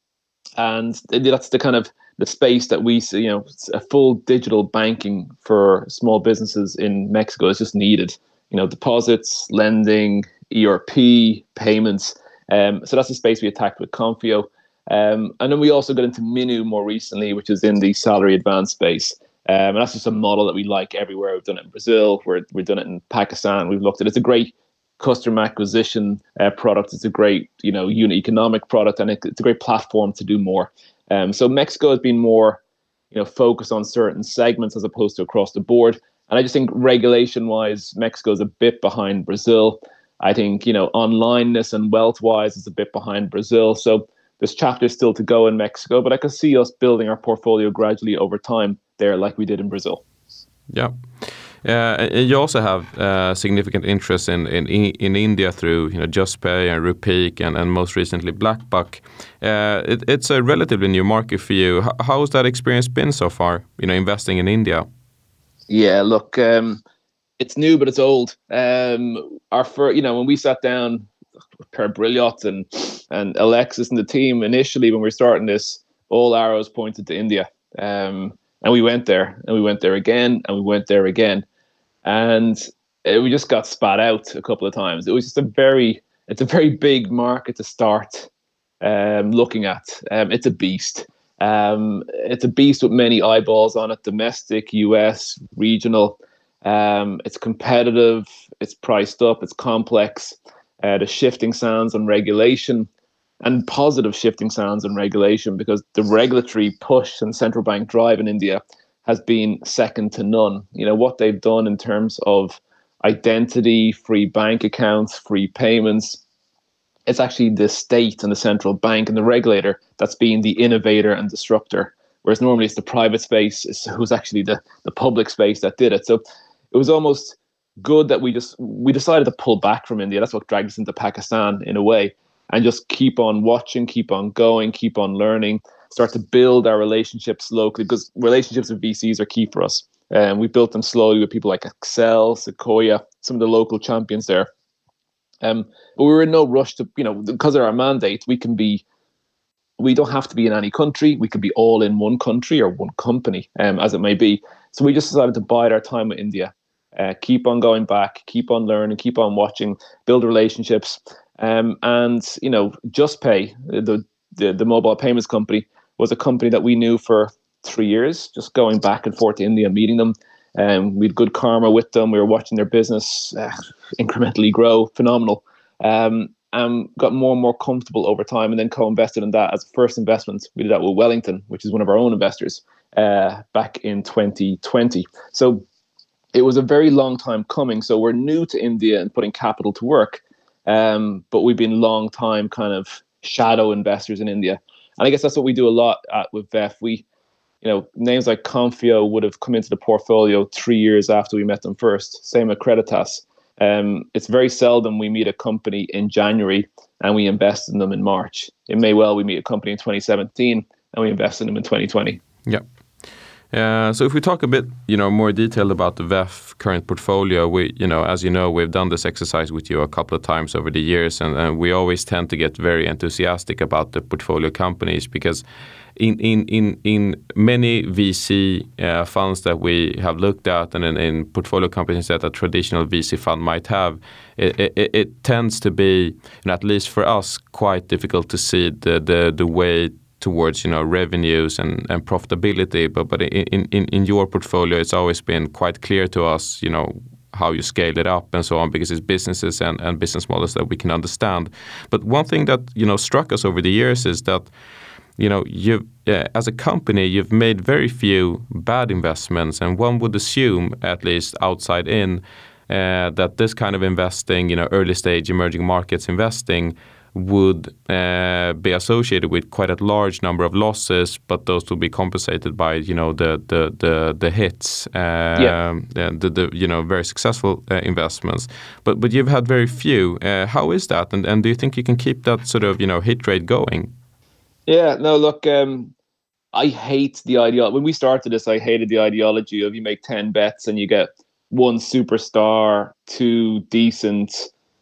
and that's the kind of the space that we see. A full digital banking for small businesses in Mexico is just needed. Deposits, lending, ERP, payments. So that's the space we attacked with Konfio. And then we also got into Minu more recently, which is in the salary advance space. And that's just a model that we like everywhere. We've done it in Brazil. We've done it in Pakistan. We've looked at it. It's a great customer acquisition product. It's a great, unit economic product, and it's a great platform to do more. So Mexico has been more, focused on certain segments as opposed to across the board. And I just think regulation-wise, Mexico is a bit behind Brazil. I think, onlineness and wealth-wise is a bit behind Brazil. So there's chapters still to go in Mexico, but I can see us building our portfolio gradually over time there like we did in Brazil. Yeah. You also have significant interest in India through JustPay and Rupeek and most recently BlackBuck. It's a relatively new market for you. How has that experience been so far? Investing in India. Yeah, look, it's new but it's old. When we sat down with Per Brilliot and Alexis and the team initially when we were starting this, all arrows pointed to India. And we went there, and we went there again, and we went there again. And we just got spat out a couple of times. It was just it's a very big market to start looking at. It's a beast. It's a beast with many eyeballs on it, domestic, US, regional. It's competitive, it's priced up, it's complex. The shifting sands on regulation, and positive shifting sands on regulation, because the regulatory push and central bank drive in India has been second to none. What they've done in terms of identity, free bank accounts, free payments, it's actually the state and the central bank and the regulator that's been the innovator and disruptor, whereas normally it's the private space who's actually the public space that did it. So it was almost good that we decided to pull back from India. That's what dragged us into Pakistan in a way, and just keep on watching, keep on going, keep on learning, start to build our relationships locally, because relationships with VCs are key for us. And we built them slowly with people like Accel, Sequoia, some of the local champions there. But we were in no rush to, because of our mandate, we don't have to be in any country. We could be all in one country or one company, as it may be. So we just decided to bide our time with India, keep on going back, keep on learning, keep on watching, build relationships. And JustPay, the mobile payments company, was a company that we knew for 3 years, just going back and forth to India, meeting them. We had good karma with them. We were watching their business incrementally grow, phenomenal. And got more and more comfortable over time, and then co-invested in that as a first investment. We did that with Wellington, which is one of our own investors, back in 2020. So it was a very long time coming. So we're new to India and putting capital to work, but we've been long time kind of shadow investors in India. And I guess that's what we do a lot with VEF. names like Confio would have come into the portfolio 3 years after we met them first. Same with Creditas. It's very seldom we meet a company in January and we invest in them in March. It may well we meet a company in 2017 and we invest in them in 2020. Yeah. So if we talk a bit, more detailed about the VEF current portfolio, we, as you know, we've done this exercise with you a couple of times over the years, and we always tend to get very enthusiastic about the portfolio companies because in many VC funds that we have looked at, and in portfolio companies that a traditional VC fund might have, it tends to be, at least for us, quite difficult to see the way towards revenues and profitability, but in your portfolio it's always been quite clear to us how you scale it up and so on, because it's businesses and business models that we can understand. But one thing that struck us over the years is that you as a company you've made very few bad investments, and one would assume, at least outside in, that this kind of investing, early stage emerging markets investing, would be associated with quite a large number of losses, but those will be compensated by the hits, the very successful investments. But you've had very few. How is that? And do you think you can keep that sort of hit rate going? Yeah, no, look, I hate the ideology. When we started this, I hated the ideology of you make 10 bets and you get 1 superstar, 2 decent.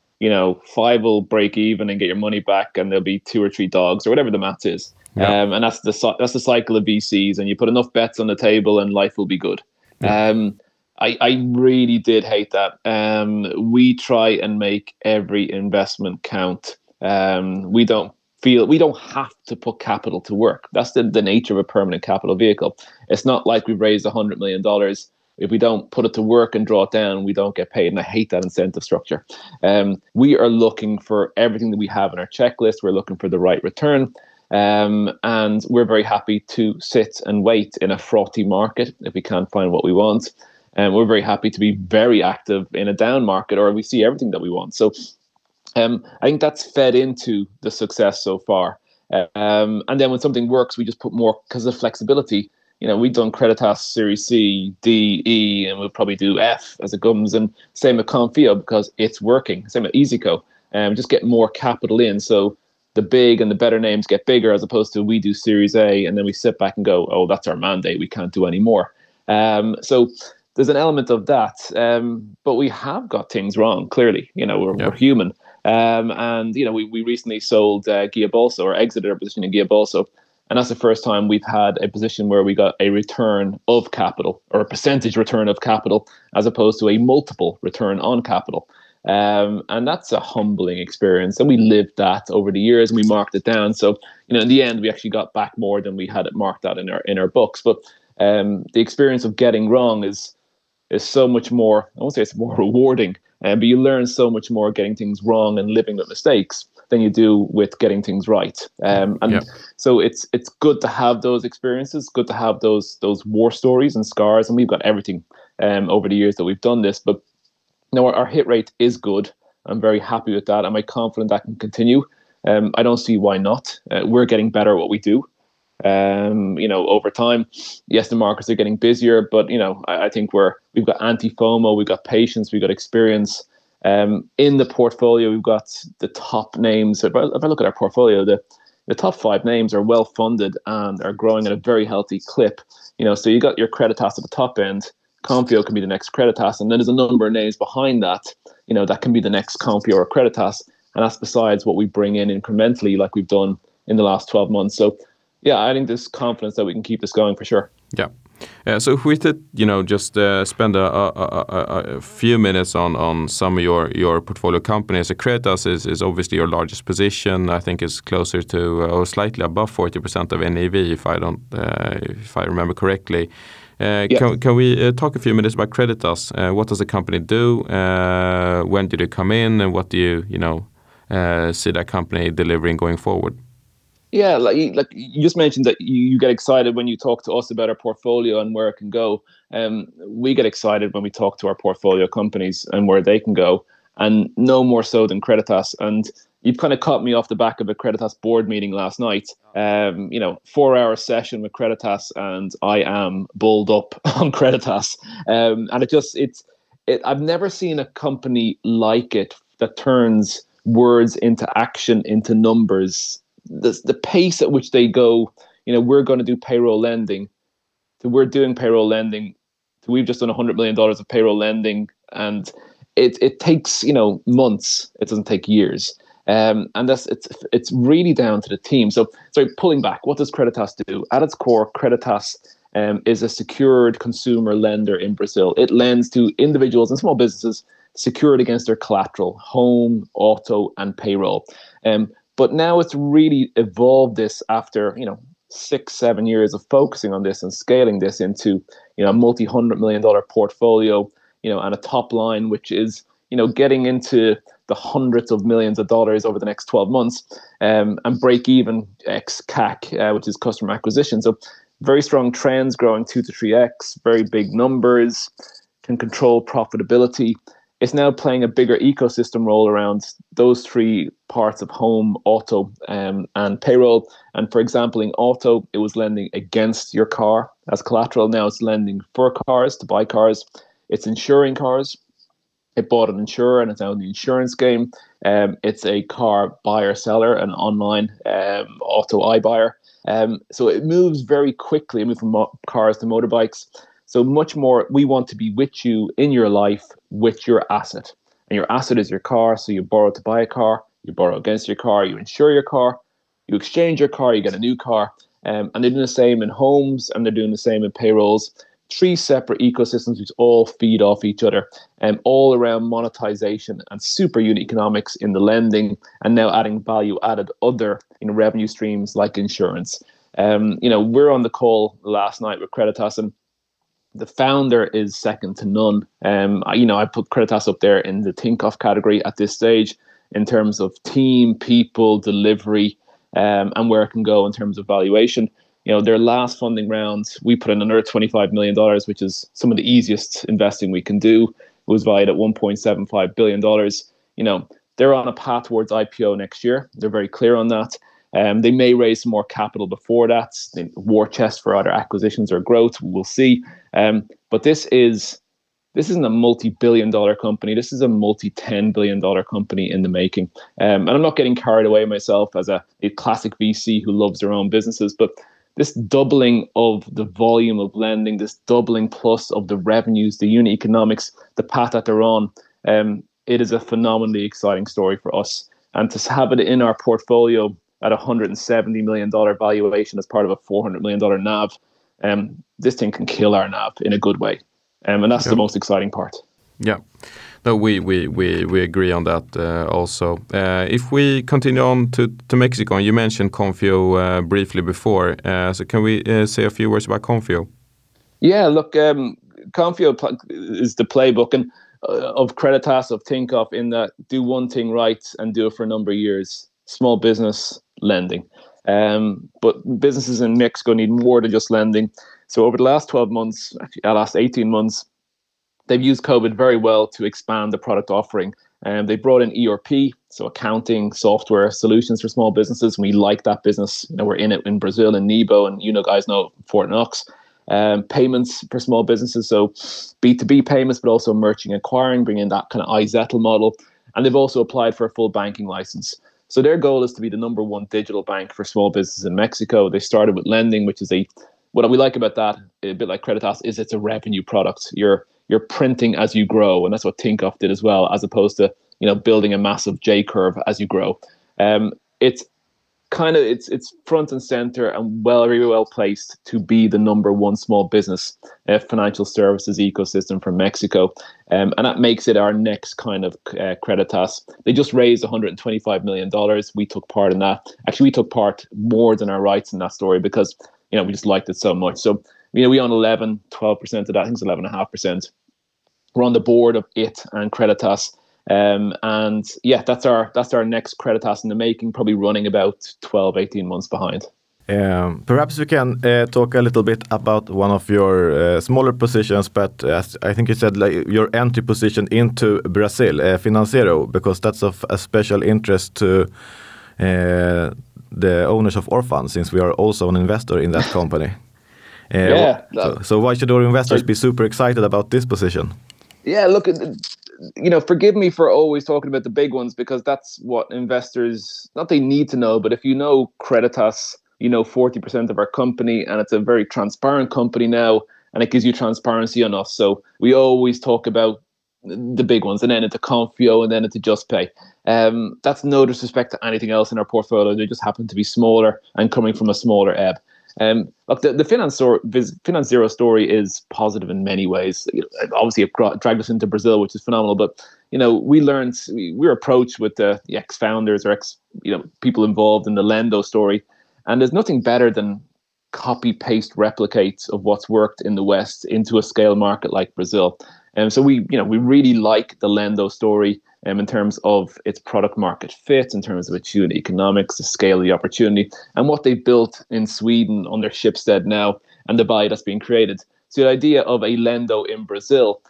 5 will break even and get your money back, and there'll be 2 or 3 dogs or whatever the math is. Yeah. And that's the cycle of VCs. And you put enough bets on the table, and life will be good. Yeah. I really did hate that. We try and make every investment count. We don't have to put capital to work. That's the nature of a permanent capital vehicle. It's not like we've raised $100 million. If we don't put it to work and draw it down, we don't get paid. And I hate that incentive structure. We are looking for everything that we have in our checklist. We're looking for the right return. And we're very happy to sit and wait in a frothy market if we can't find what we want. And we're very happy to be very active in a down market, or we see everything that we want. So I think that's fed into the success so far. And then when something works, we just put more because of flexibility. We've done Creditas Series C, D, E, and we'll probably do F as it comes. And same with Confio because it's working. Same with EasyCo. Just get more capital in. So the big and the better names get bigger, as opposed to we do Series A and then we sit back and go, oh, that's our mandate. We can't do any more. So there's an element of that. But we have got things wrong, clearly. We're human. And we recently sold Guia Bolso, or exited our position in Guia Bolso. And that's the first time we've had a position where we got a return of capital, or a percentage return of capital, as opposed to a multiple return on capital. And that's a humbling experience. And we lived that over the years, and we marked it down. So, in the end, we actually got back more than we had it marked out in our books. But the experience of getting wrong is so much more, I won't say it's more rewarding, but you learn so much more getting things wrong and living with mistakes than you do with getting things right. So it's good to have those experiences, good to have those war stories and scars, and we've got everything over the years that we've done this. But our hit rate is good. I'm very happy with that. Am I confident that can continue? I don't see why not. We're getting better at what we do. Over time, yes, the markets are getting busier, but I think we've got anti-FOMO, we've got patience, we've got experience. In the portfolio, we've got the top names. If I look at our portfolio, the top 5 names are well funded and are growing at a very healthy clip. So you got your Creditas at the top end. Confio can be the next Creditas, and then there's a number of names behind that. That can be the next Confio or Creditas, and that's besides what we bring in incrementally, like we've done in the last 12 months. So, yeah, I think there's confidence that we can keep this going for sure. Yeah. So if we could, just spend a few minutes on some of your portfolio companies. Creditas is obviously your largest position. I think it's closer to or slightly above 40% of NAV, if I remember correctly. Can we talk a few minutes about Creditas? What does the company do? When did it come in, and what do you see that company delivering going forward? Yeah, like you just mentioned that you get excited when you talk to us about our portfolio and where it can go. We get excited when we talk to our portfolio companies and where they can go, and no more so than Creditas. And you've kind of caught me off the back of a Creditas board meeting last night. 4-hour session with Creditas, and I am bulled up on Creditas. And I've never seen a company like it that turns words into action, into numbers. The pace at which they go, we're going to do payroll lending, to we're doing payroll lending, to we've just done $100 million of payroll lending, and it takes months. It doesn't take years. And it's really down to the team. So, pulling back, what does Creditas do? At its core, Creditas is a secured consumer lender in Brazil. It lends to individuals and small businesses secured against their collateral, home, auto, and payroll. But now it's really evolved this after 6-7 years of focusing on this and scaling this into a multi-$100 million portfolio, and a top line which is getting into the hundreds of millions of dollars over the next 12 months, and break even ex CAC, which is customer acquisition. So very strong trends, growing 2 to 3x, very big numbers, can control profitability. It's now playing a bigger ecosystem role around those three parts of home, auto, and payroll. And for example, in auto, it was lending against your car as collateral. Now it's lending for cars, to buy cars. It's insuring cars. It bought an insurer and it's now in the insurance game. It's a car buyer-seller, an online auto iBuyer. So it moves very quickly. It moves from cars to motorbikes. So much more, we want to be with you in your life with your asset. And your asset is your car. So you borrow to buy a car, you borrow against your car, you insure your car, you exchange your car, you get a new car. And they're doing the same in homes, and they're doing the same in payrolls. 3 separate ecosystems which all feed off each other, all around monetization and super unit economics in the lending, and now adding value added other revenue streams like insurance. We're on the call last night with Creditas, and the founder is second to none. I put Creditas up there in the Tinkoff category at this stage in terms of team, people, delivery, and where it can go in terms of valuation. Their last funding round, we put in another $25 million, which is some of the easiest investing we can do. It was valued at $1.75 billion. They're on a path towards IPO next year. They're very clear on that. They may raise some more capital before that. War chest for either acquisitions or growth. We'll see. But this isn't a multi-billion-dollar company. This is a multi-$10 billion company in the making. And I'm not getting carried away myself as a classic VC who loves their own businesses, but this doubling of the volume of lending, this doubling plus of the revenues, the unit economics, the path that they're on, it is a phenomenally exciting story for us. And to have it in our portfolio at $170 million valuation as part of a $400 million NAV, this thing can kill our NAV in a good way. And that's the most exciting part. Yeah. No, we agree on that also. If we continue on to Mexico, and you mentioned Konfio briefly before, so can we say a few words about Konfio? Yeah, look, Konfio is the playbook of Creditas, of Tinkoff, in that do one thing right and do it for a number of years. Small business lending. But businesses in Mexico need more than just lending. So over the last 12 months, actually the last 18 months, they've used COVID very well to expand the product offering. And they brought in ERP, so accounting software solutions for small businesses. We like that business. We're in it in Brazil and Nibo, and guys know Fort Knox. Payments for small businesses, so B2B payments, but also merchant acquiring, bringing in that kind of iZettle model. And they've also applied for a full banking license. So their goal is to be the number one digital bank for small businesses in Mexico. They started with lending, which is what we like about that, a bit like Creditas, is it's a revenue product. You're printing as you grow, and that's what Tinkoff did as well, as opposed to building a massive J curve as you grow. It's front and center and very well placed to be the number one small business financial services ecosystem for Mexico, and that makes it our next kind of Creditas. They just raised $125 million. We took part in that. Actually, we took part more than our rights in that story because we just liked it so much. So we own 12% of that. I think it's 11.5%. We're on the board of it and Creditas. And yeah, that's our next Creditas in the making, probably running about 12, 18 months behind. Perhaps we can talk a little bit about one of your smaller positions, but as I think you said, like, your entry position into Brazil, Finanzero, because that's of a special interest to the owners of Orphan, since we are also an investor in that company. So why should our investors be super excited about this position? Yeah, look, forgive me for always talking about the big ones, because that's what investors, not they need to know, but if you know Creditas, 40% of our company, and it's a very transparent company now, and it gives you transparency on us. So we always talk about the big ones, and then into Konfio, and then into JustPay. That's no disrespect to anything else in our portfolio. They just happen to be smaller and coming from a smaller ebb. Look, the Finanzero story is positive in many ways. Obviously, it dragged us into Brazil, which is phenomenal. But we were approached with the ex-founders or people involved in the Lendo story, and there's nothing better than copy-paste replicates of what's worked in the West into a scale market like Brazil. And so we really like the Lendo story in terms of its product market fit, in terms of its unit economics, the scale of the opportunity, and what they've built in Sweden under Schibsted now, and the value that's being created. So the idea of a Lendo in Brazil,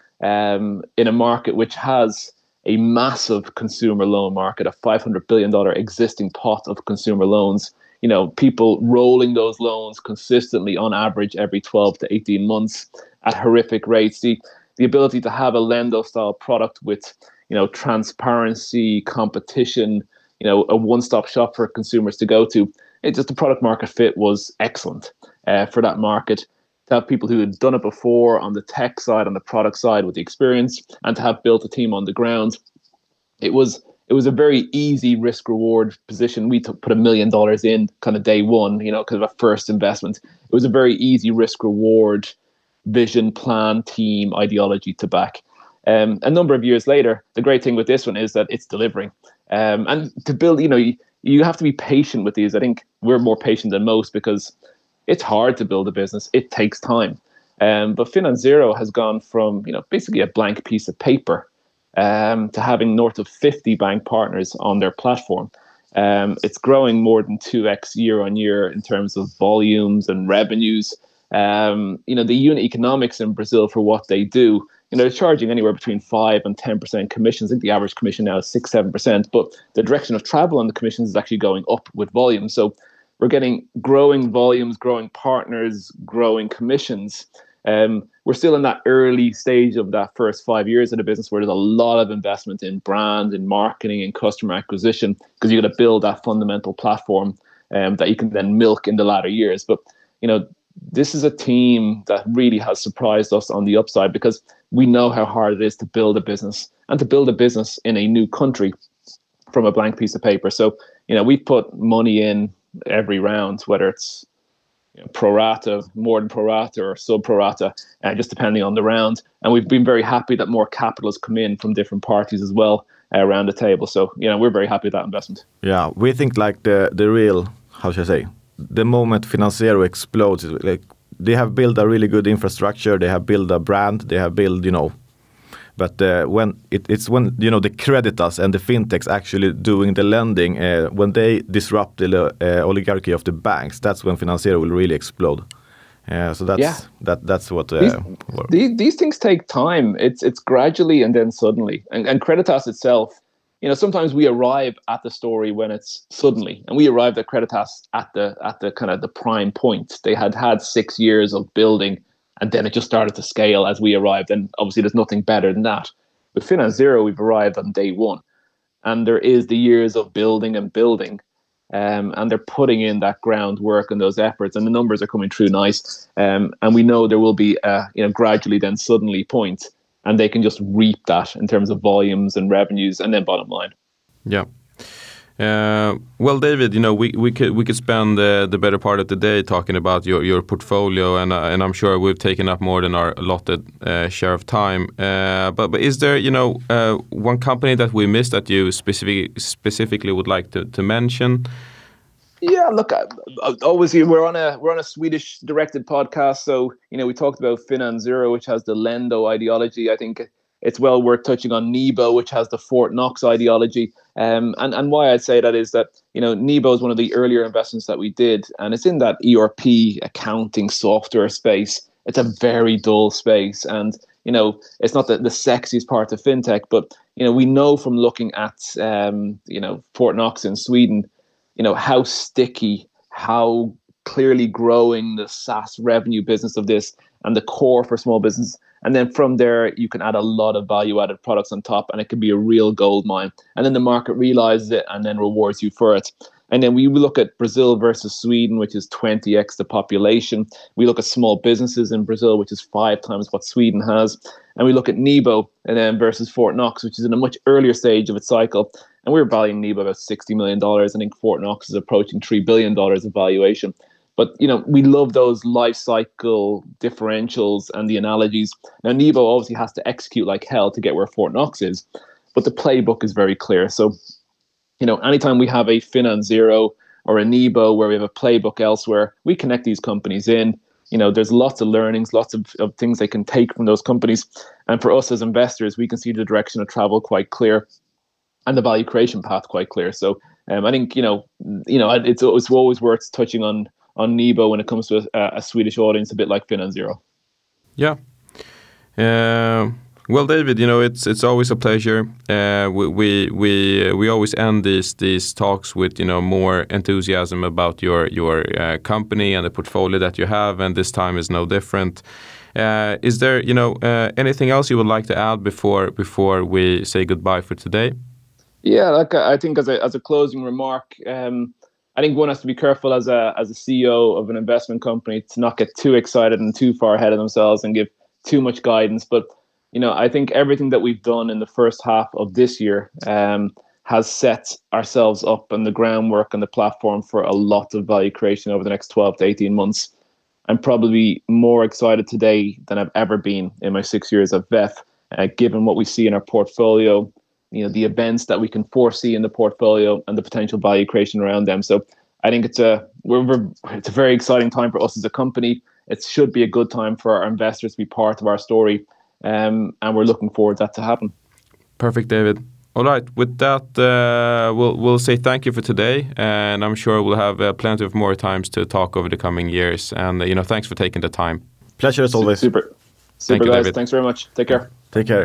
in a market which has a massive consumer loan market, a $500 billion existing pot of consumer loans, people rolling those loans consistently on average every 12 to 18 months at horrific rates. The ability to have a Lendo style product with, transparency, competition, a one-stop shop for consumers to go to. The product market fit was excellent for that market. To have people who had done it before on the tech side, on the product side with the experience, and to have built a team on the ground. It was a very easy risk reward position. We put $1 million in kind of day one, because of a first investment. It was a very easy risk reward vision, plan, team, ideology to back. A number of years later, the great thing with this one is that it's delivering. And to build, you have to be patient with these. I think we're more patient than most because it's hard to build a business. It takes time. But Finanzero has gone from, basically a blank piece of paper to having north of 50 bank partners on their platform. It's growing more than 2x year on year in terms of volumes and revenues. The unit economics in Brazil for what they do, they're charging anywhere between 5 and 10% commissions. I think the average commission now is 6-7%, but the direction of travel on the commissions is actually going up with volume. So we're getting growing volumes, growing partners, growing commissions. We're still in that early stage of that first 5 years of the business where there's a lot of investment in brand and marketing and customer acquisition, because you've got to build that fundamental platform that you can then milk in the latter years. But, this is a team that really has surprised us on the upside, because we know how hard it is to build a business, and to build a business in a new country from a blank piece of paper. So, we put money in every round, whether it's pro rata, more than pro rata, or sub pro rata, just depending on the round. And we've been very happy that more capital has come in from different parties as well around the table. So, we're very happy with that investment. Yeah, we think like the real, how should I say, the moment Finanzero explodes, like they have built a really good infrastructure, they have built a brand, they have built, but when it's when, the Creditas and the fintechs actually doing the lending, when they disrupt the oligarchy of the banks, that's when Finanzero will really explode. So that's what these things take time. It's gradually and then suddenly. And Creditas itself, sometimes we arrive at the story when it's suddenly, and we arrived at Creditas at the kind of the prime point. They had 6 years of building, and then it just started to scale as we arrived. And obviously, there's nothing better than that. With Finanzero, we've arrived on day one, and there is the years of building and building, and they're putting in that groundwork and those efforts, and the numbers are coming through nice. And we know there will be gradually then suddenly point. And they can just reap that in terms of volumes and revenues and then bottom line. Yeah. Well, David, we could spend the better part of the day talking about your portfolio, and I'm sure we've taken up more than our allotted share of time. But is there one company that we missed that you specifically would like to mention? Yeah, look, obviously we're on a Swedish directed podcast, so we talked about Finanzero, which has the Lendo ideology. I think it's well worth touching on Nebo, which has the Fort Knox ideology. And why I'd say that is that, Nebo is one of the earlier investments that we did, and it's in that ERP accounting software space. It's a very dull space, and it's not the sexiest part of fintech, but we know from looking at Fort Knox in Sweden, how sticky, how clearly growing the SaaS revenue business of this and the core for small business. And then from there, you can add a lot of value-added products on top, and it can be a real gold mine. And then the market realizes it and then rewards you for it. And then we look at Brazil versus Sweden, which is 20x the population. We look at small businesses in Brazil, which is 5 times what Sweden has. And we look at Nebo and then versus Fort Knox, which is in a much earlier stage of its cycle. And we're valuing Nebo about $60 million. I think Fort Knox is approaching $3 billion of valuation. But, we love those life cycle differentials and the analogies. Now, Nebo obviously has to execute like hell to get where Fort Knox is, but the playbook is very clear. So, anytime we have a FinanZero or a Nebo where we have a playbook elsewhere, we connect these companies in. There's lots of learnings, lots of things they can take from those companies. And for us as investors, we can see the direction of travel quite clear and the value creation path quite clear. So I think, it's always worth touching on Nebo when it comes to a Swedish audience, a bit like FinanZero. Yeah. Well, David, it's always a pleasure. We always end these talks with more enthusiasm about your company and the portfolio that you have, and this time is no different. Is there anything else you would like to add before we say goodbye for today? Yeah, I think as a closing remark, I think one has to be careful as a CEO of an investment company to not get too excited and too far ahead of themselves and give too much guidance. But, I think everything that we've done in the first half of this year has set ourselves up and the groundwork and the platform for a lot of value creation over the next 12 to 18 months. I'm probably more excited today than I've ever been in my 6 years at VEF, given what we see in our portfolio, the events that we can foresee in the portfolio and the potential value creation around them. So I think it's a very exciting time for us as a company. It should be a good time for our investors to be part of our story. And we're looking forward to that to happen. Perfect, David. All right. With that, we'll say thank you for today. And I'm sure we'll have plenty of more times to talk over the coming years. And, thanks for taking the time. Pleasure as always. Super Thank you, guys. David. Thanks very much. Take care. Take care.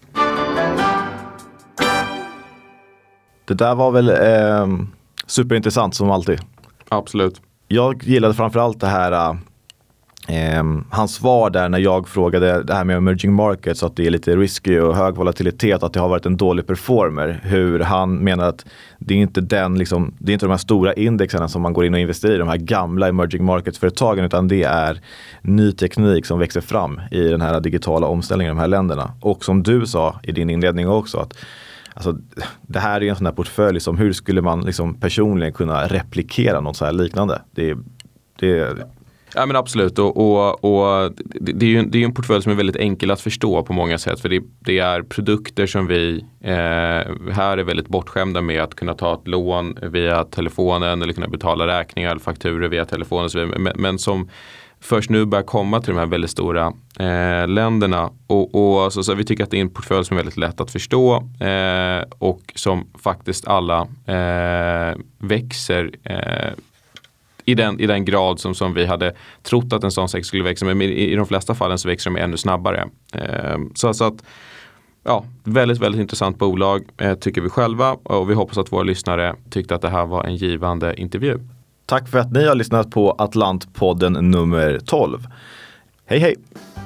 Det där var väl superintressant som alltid. Absolut. Jag gillade framförallt det här hans svar där när jag frågade det här med emerging markets, att det är lite risky och hög volatilitet, att det har varit en dålig performer. Hur han menar att det är inte det är inte de här stora indexerna som man går in och investerar i, de här gamla emerging markets-företagen, utan det är ny teknik som växer fram i den här digitala omställningen i de här länderna. Och som du sa i din inledning också, att alltså, det här är en sån här portfölj som hur skulle man personligen kunna replikera något så här liknande? Ja, men absolut, och det är ju en portfölj som är väldigt enkel att förstå på många sätt, för det är produkter som vi här är väldigt bortskämda med, att kunna ta ett lån via telefonen eller kunna betala räkningar eller fakturor via telefonen och så vidare, men som först nu börjar komma till de här väldigt stora länderna, och så vi tycker att det är en portfölj som är väldigt lätt att förstå och som faktiskt alla växer i den grad som vi hade trott att en sån sektor skulle växa, men i de flesta fallen så växer de ännu snabbare. Så att, ja, väldigt, väldigt intressant bolag tycker vi själva, och vi hoppas att våra lyssnare tyckte att det här var en givande intervju. Tack för att ni har lyssnat på Atlantpodden nummer 12. Hej hej!